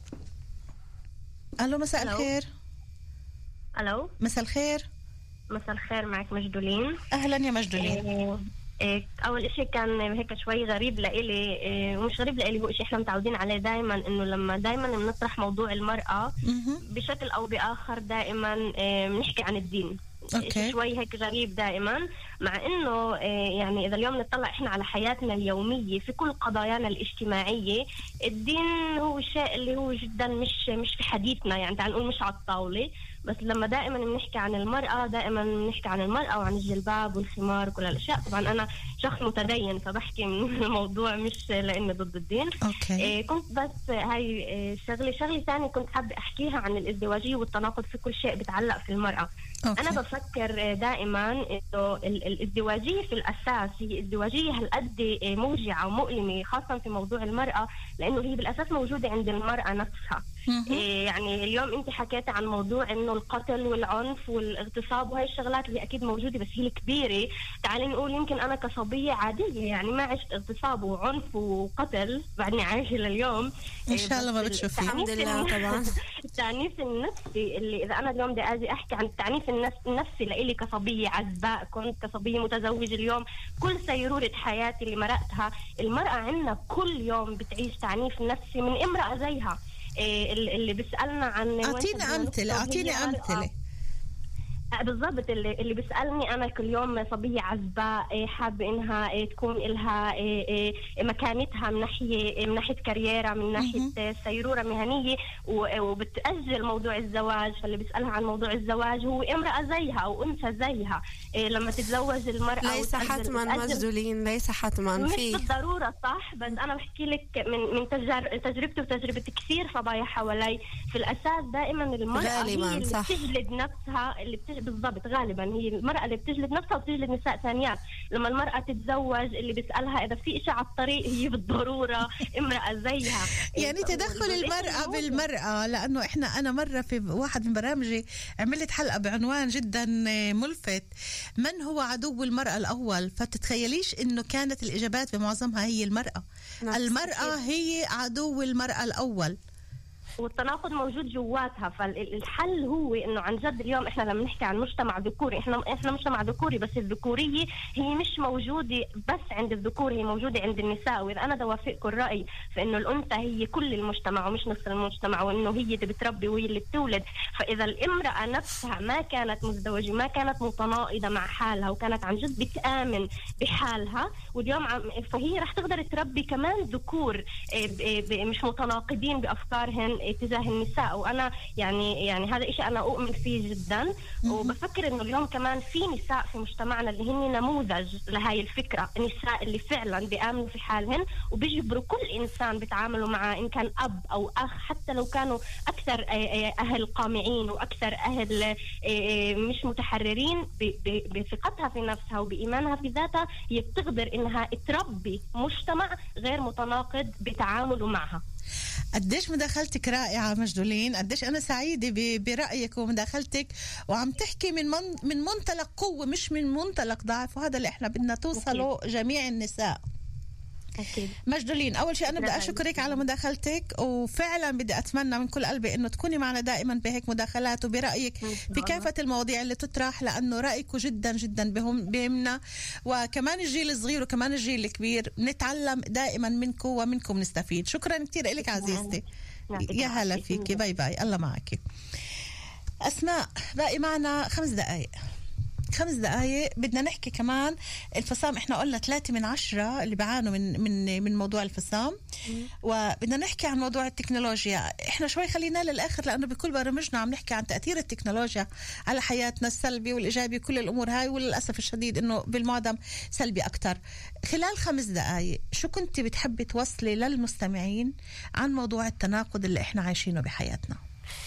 ألو مساء ألو. الخير. ألو مساء الخير. مساء الخير، معك مجدولين. أهلا يا مجدولين. إيه إيه أول إشي كان هيك شوي غريب لإلي، إيه ومش غريب لإلي، هو إشي إحنا متعودين عليه دايما، إنه لما دايما بنطرح موضوع المرأة بشكل أو بآخر دائما إيه بنحكي عن الدين. أوكي. شوي هيك غريب دائما، مع انه يعني اذا اليوم نطلع احنا على حياتنا اليوميه في كل قضايانا الاجتماعيه، الدين هو الشيء اللي هو جدا مش مش في حديثنا، يعني تعال نقول مش على الطاوله. بس لما دائما بنحكي عن المراه دائما بنحكي عن المراه وعن الجلباب والخمار وكل الاشياء. طبعا انا شخص متدين فبحكي من الموضوع مش لاني ضد الدين. أوكي. إيه كنت بس هاي شغله شغله ثانيه كنت حابه احكيها عن الازدواجيه والتناقض في كل شيء بتعلق في المراه. أوكي. انا بفكر دائما انه الازدواجيه في الاساس هي ازدواجيه هالقد موجعه ومؤلمه، خاصه في موضوع المراه، لانه هي بالاساس موجوده عند المراه نفسها. إيه يعني اليوم انت حكيت عن موضوع انه القتل والعنف والاغتصاب وهي الشغلات اللي اكيد موجوده بس هي الكبيره. تعالي نقول يمكن انا كصبيه عاديه يعني ما عشت اغتصاب وعنف وقتل، بعدني عايشه لليوم ان شاء الله ما بتشوفي. الحمد لله. طبعا التعنيف النفسي اللي اذا انا اليوم بدي اجي احكي عن التعنيف النفسي لإلي كصبيه عزباء، كنت كصبيه متزوجه اليوم، كل سيروره حياتي اللي مرقتها، المراه عندنا كل يوم بتعيش تعنيف نفسي من امراه زيها. إيه اللي بيسألنا عن أعطينا أمثلة أعطيني أمثلة بالضبط. اللي, اللي بيسألني أنا كل يوم صبية عزباء إيه حابة إنها إيه تكون إلها إيه إيه مكانتها من ناحية إيه من ناحية كاريرا، من ناحية سيرورة مهنية، وبتأجل موضوع الزواج. فاللي بيسألها عن موضوع الزواج هو امرأة زيها أو أنثى زيها. إيه لما تتزوج المرأة ليس حتما مجدولين، ليس حتما في مش بالضرورة صح، بس أنا بحكي لك من من تجار تجربتي وتجربة كثير صبايا حوالي. في الأساس دائما المرأة هي اللي بتجلد نفسها، اللي بتجلد بالضبط غالبا هي المرأة اللي بتجلد نفسها وبتجلد نساء ثانيات. لما المرأة تتزوج اللي بيسألها إذا في إشي على الطريق هي بالضرورة امرأة زيها. يعني تدخل المرأة بالمرأة، لأنه إحنا أنا مرة في واحد من برامجي عملت حلقة بعنوان جدا ملفت، من هو عدو المرأة الأول؟ فتتخيليش إنه كانت الإجابات بمعظمها هي المرأة. المرأة هي عدو المرأة الأول، والتناقض موجود جواتها. فالحل هو انه عن جد اليوم احنا لما نحكي عن مجتمع ذكوري، احنا احنا مجتمع ذكوري، بس الذكوريه هي مش موجوده بس عند الذكور، هي موجوده عند النساء. واذا انا دوافقكم الراي فانه الانثى هي كل المجتمع ومش نص المجتمع، وانه هي اللي بتربي وهي اللي بتولد. فاذا الامراه نفسها ما كانت مزدوجه، ما كانت متناقضه مع حالها، وكانت عن جد بتآمن بحالها، واليوم فهي رح تقدر تربي كمان ذكور مش متناقضين بافكارهن تجاه النساء. وانا يعني يعني هذا إشي انا اؤمن فيه جدا، وبفكر انه اليوم كمان في نساء في مجتمعنا اللي هن نموذج لهاي الفكره، النساء اللي فعلا بيآمنوا في حالهن وبيجبروا كل انسان بيتعاملوا معه، ان كان اب او اخ، حتى لو كانوا اكثر اهل قامعين واكثر اهل مش متحررين بثقتها في نفسها وبايمانها في ذاتها، هي بتقدر انها تربي مجتمع غير متناقض بتعامله معها. قديش مداخلتك رائعة مجدولين، قديش أنا سعيدة برأيك ومداخلتك، وعم تحكي من من من منطلق قوة مش من منطلق ضعف، وهذا اللي إحنا بدنا توصله جميع النساء. أكيد. مجدولين، أول شيء أنا بدي أشكرك على مداخلتك، وفعلا بدي أتمنى من كل قلبي إنه تكوني معنا دائما بهيك مداخلات وبرأيك في كافة المواضيع اللي تطرح، لأنه رأيك جدا جدا بهم بهمنا، وكمان الجيل الصغير وكمان الجيل الكبير نتعلم دائما منكم ومنكم نستفيد. شكرا كتير لك عزيزتي، يا هلا فيكي، باي باي، الله معك. أسماء، باقي معنا خمس دقايق خمس دقايق بدنا نحكي كمان الفصام. احنا قلنا ثلاثة من عشرة اللي بيعانوا من من من موضوع الفصام، وبدنا نحكي عن موضوع التكنولوجيا. احنا شوي خلينا للآخر، لأنه بكل برامجنا عم نحكي عن تأثير التكنولوجيا على حياتنا السلبي والإيجابي، كل الأمور هاي، وللأسف الشديد إنه بالمعظم سلبي أكتر. خلال خمس دقايق شو كنت بتحبي توصلي للمستمعين عن موضوع التناقض اللي احنا عايشينه بحياتنا؟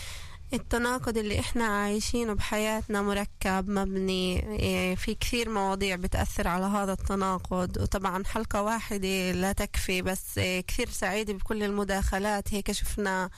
التناقض اللي احنا عايشينه بحياتنا مركب مبني، في كثير مواضيع بتأثر على هذا التناقض، وطبعا حلقة واحدة لا تكفي، بس كثير سعيدة بكل المداخلات. هيك شفنا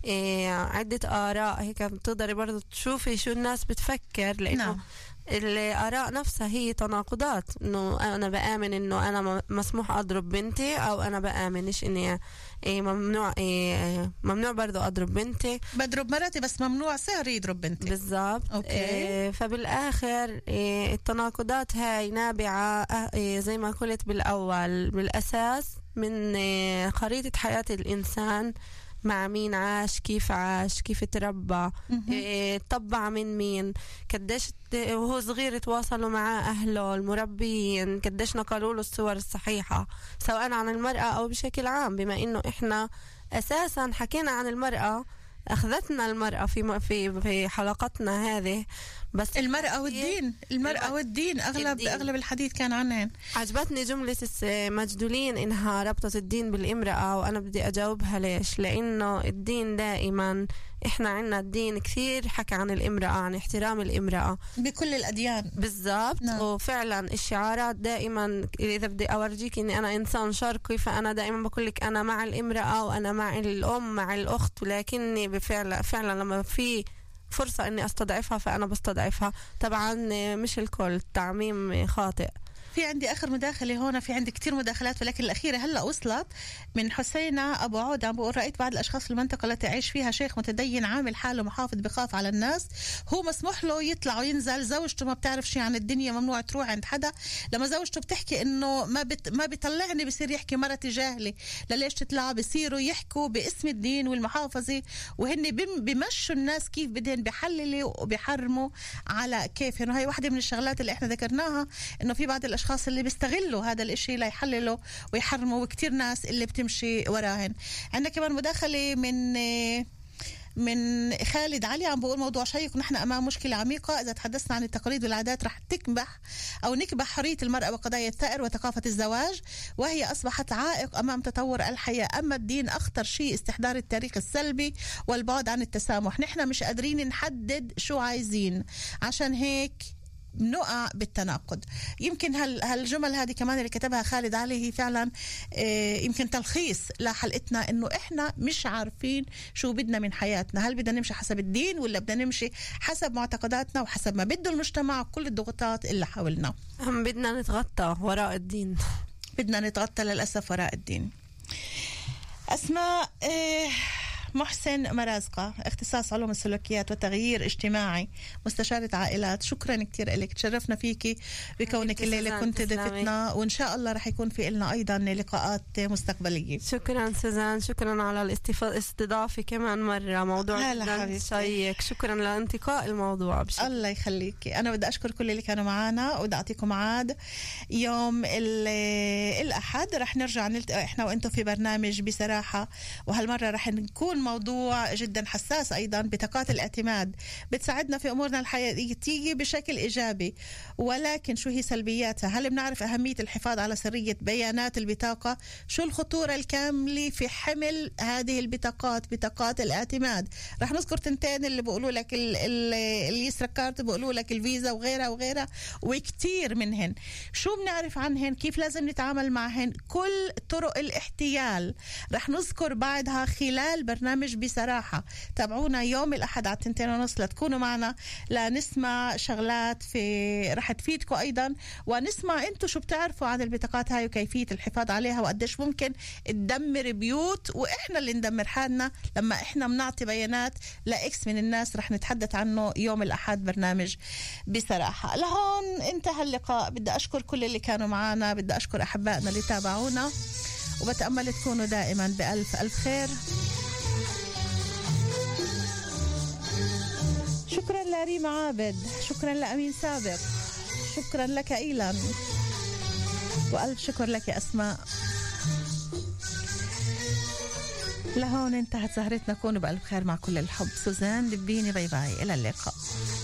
عدة آراء، هيك بتقدري برضو تشوفي شو الناس بتفكر، لأنه نعم. الآراء نفسها هي تناقضات، إنه أنا بآمن إنه أنا مسموح أضرب بنتي، أو أنا بآمنش إني إيه ممنوع إيه ممنوع برضو أضرب بنتي، بضرب مرتي بس ممنوع سهر يضرب بنتي. بالضبط. إيه فبالآخر إيه التناقضات هاي نابعة إيه زي ما قلت بالأول بالأساس من إيه خريطة حياة الإنسان، مع مين عاش، كيف عاش، كيف تربى، إيه طبع من مين، قديش وهو صغير تواصلوا مع أهله المربيين، قديش نقلوا له الصور الصحيحة سواء عن المرأة أو بشكل عام، بما إنه إحنا أساسا حكينا عن المرأة، أخذتنا المرأة في في في حلقتنا هذه، بس المرأة والدين المرأة والدين أغلب الدين. أغلب الحديث كان عنهن. عجبتني جملة مجدولين إنها ربطت الدين بالإمرأة، وأنا بدي أجاوبها ليش؟ لأنه الدين دائما إحنا عنا الدين كثير حكى عن الإمرأة، عن احترام الإمرأة بكل الأديان. بالضبط. نعم. وفعلا الشعارات دائما، إذا بدي أورجيك إني أنا إنسان شرقي، فأنا دائما بقولك أنا مع الإمرأة وأنا مع الأم مع الأخت، ولكني بفعل فعلا لما في فرصة إني أستضعفها فأنا بستضعفها. طبعا مش الكل، التعميم خاطئ. في عندي آخر مداخلة هون، في عندي كتير مداخلات، ولكن الأخيرة هلأ وصلت من حسينة أبو عود، عم بقول رأيت بعض الأشخاص في المنطقة التي أعيش فيها شيخ متدين عامل حاله محافظ بخاف على الناس، هو مسموح له يطلع وينزل، زوجته ما بتعرف شيء عن الدنيا، ممنوع تروح عند حدا. لما زوجته بتحكي إنه ما بت ما بيطلعني، بصير يحكي مرتي جاهلة، لليش تطلع؟ بصيروا يحكوا باسم الدين والمحافظة، وهن بمشوا الناس كيف بدهن، بحللوا وبيحرموا على كيفهم. وهي واحدة من الشغلات اللي إحنا ذكرناها، إنه في بعض الأشخاص الاشخاص اللي بيستغلوا هذا الاشي ليحللوا ويحرموا، وكتير ناس اللي بتمشي وراهن. عندنا كمان مداخله من من خالد علي، عم بقول موضوع شيق، نحن امام مشكله عميقه اذا تحدثنا عن التقاليد والعادات رح تكبح او نكبح حريه المراه وقضايا الثأر وثقافه الزواج، وهي اصبحت عائق امام تطور الحياه. اما الدين اخطر شيء استحضار التاريخ السلبي والبعد عن التسامح. نحن مش قادرين نحدد شو عايزين، عشان هيك نقع بالتناقض. يمكن هال هالجمل هذه كمان اللي كتبها خالد علي هي فعلا يمكن تلخيص لحلقتنا، انه احنا مش عارفين شو بدنا من حياتنا، هل بدنا نمشي حسب الدين ولا بدنا نمشي حسب معتقداتنا وحسب ما بده المجتمع وكل الضغوطات اللي حولنا. هم بدنا نتغطى وراء الدين، بدنا نتغطى للأسف وراء الدين. أسماء إيه محسن مرازقة، اختصاص علوم السلوكيات والتغيير اجتماعي، مستشارة عائلات، شكرا كتير لك، تشرفنا فيكي بكونك الليلة كنت ضيفتنا، وإن شاء الله رح يكون في لنا أيضا لقاءات مستقبلية. شكرا سوزان، شكرا على الاستضافة كمان مرة، موضوع جدا شيق، شكرا لانتقاء الموضوع بشكل. الله يخليكي. أنا بدي أشكر كل اللي كانوا معنا، وبدي أعطيكم ميعاد يوم الأحد رح نرجع نلتقي إحنا وإنتم في برنامج بصراحة، وهالمرة رح نكون موضوع جدا حساس أيضا، بطاقات الاعتماد بتساعدنا في أمورنا الحياتية بشكل إيجابي، ولكن شو هي سلبياتها؟ هل بنعرف أهمية الحفاظ على سرية بيانات البطاقة؟ شو الخطورة الكاملة في حمل هذه البطاقات، بطاقات الاعتماد؟ رح نذكر تنتين اللي بقولوا لك اليسرا كارت، بقولوا لك الفيزا وغيرها وغيرها وكتير منهن. شو بنعرف عنهن؟ كيف لازم نتعامل معهن؟ كل طرق الاحتيال رح نذكر بعدها خلال برنامج برنامج بصراحة. تابعونا يوم الأحد على تنتين ونص لتكونوا معنا لنسمع شغلات في رح تفيدكم أيضا، ونسمع أنتوا شو بتعرفوا عن البطاقات هاي وكيفية الحفاظ عليها وقديش ممكن تدمر بيوت، وإحنا اللي ندمر حالنا لما إحنا منعطي بيانات لإكس من الناس. رح نتحدث عنه يوم الأحد برنامج بصراحة. لهون انتهى اللقاء. بدي أشكر كل اللي كانوا معنا، بدي أشكر أحبائنا اللي تابعونا، وبتأمل تكونوا دائما بألف ألف خير. شكرا لريم عابد، شكرا لأمين سابق، شكرا لك إيلان، وألف شكر لك أسماء. لهون انتهت سهرتنا. كونوا بألف خير مع كل الحب. سوزان دبيني، باي باي، إلى اللقاء.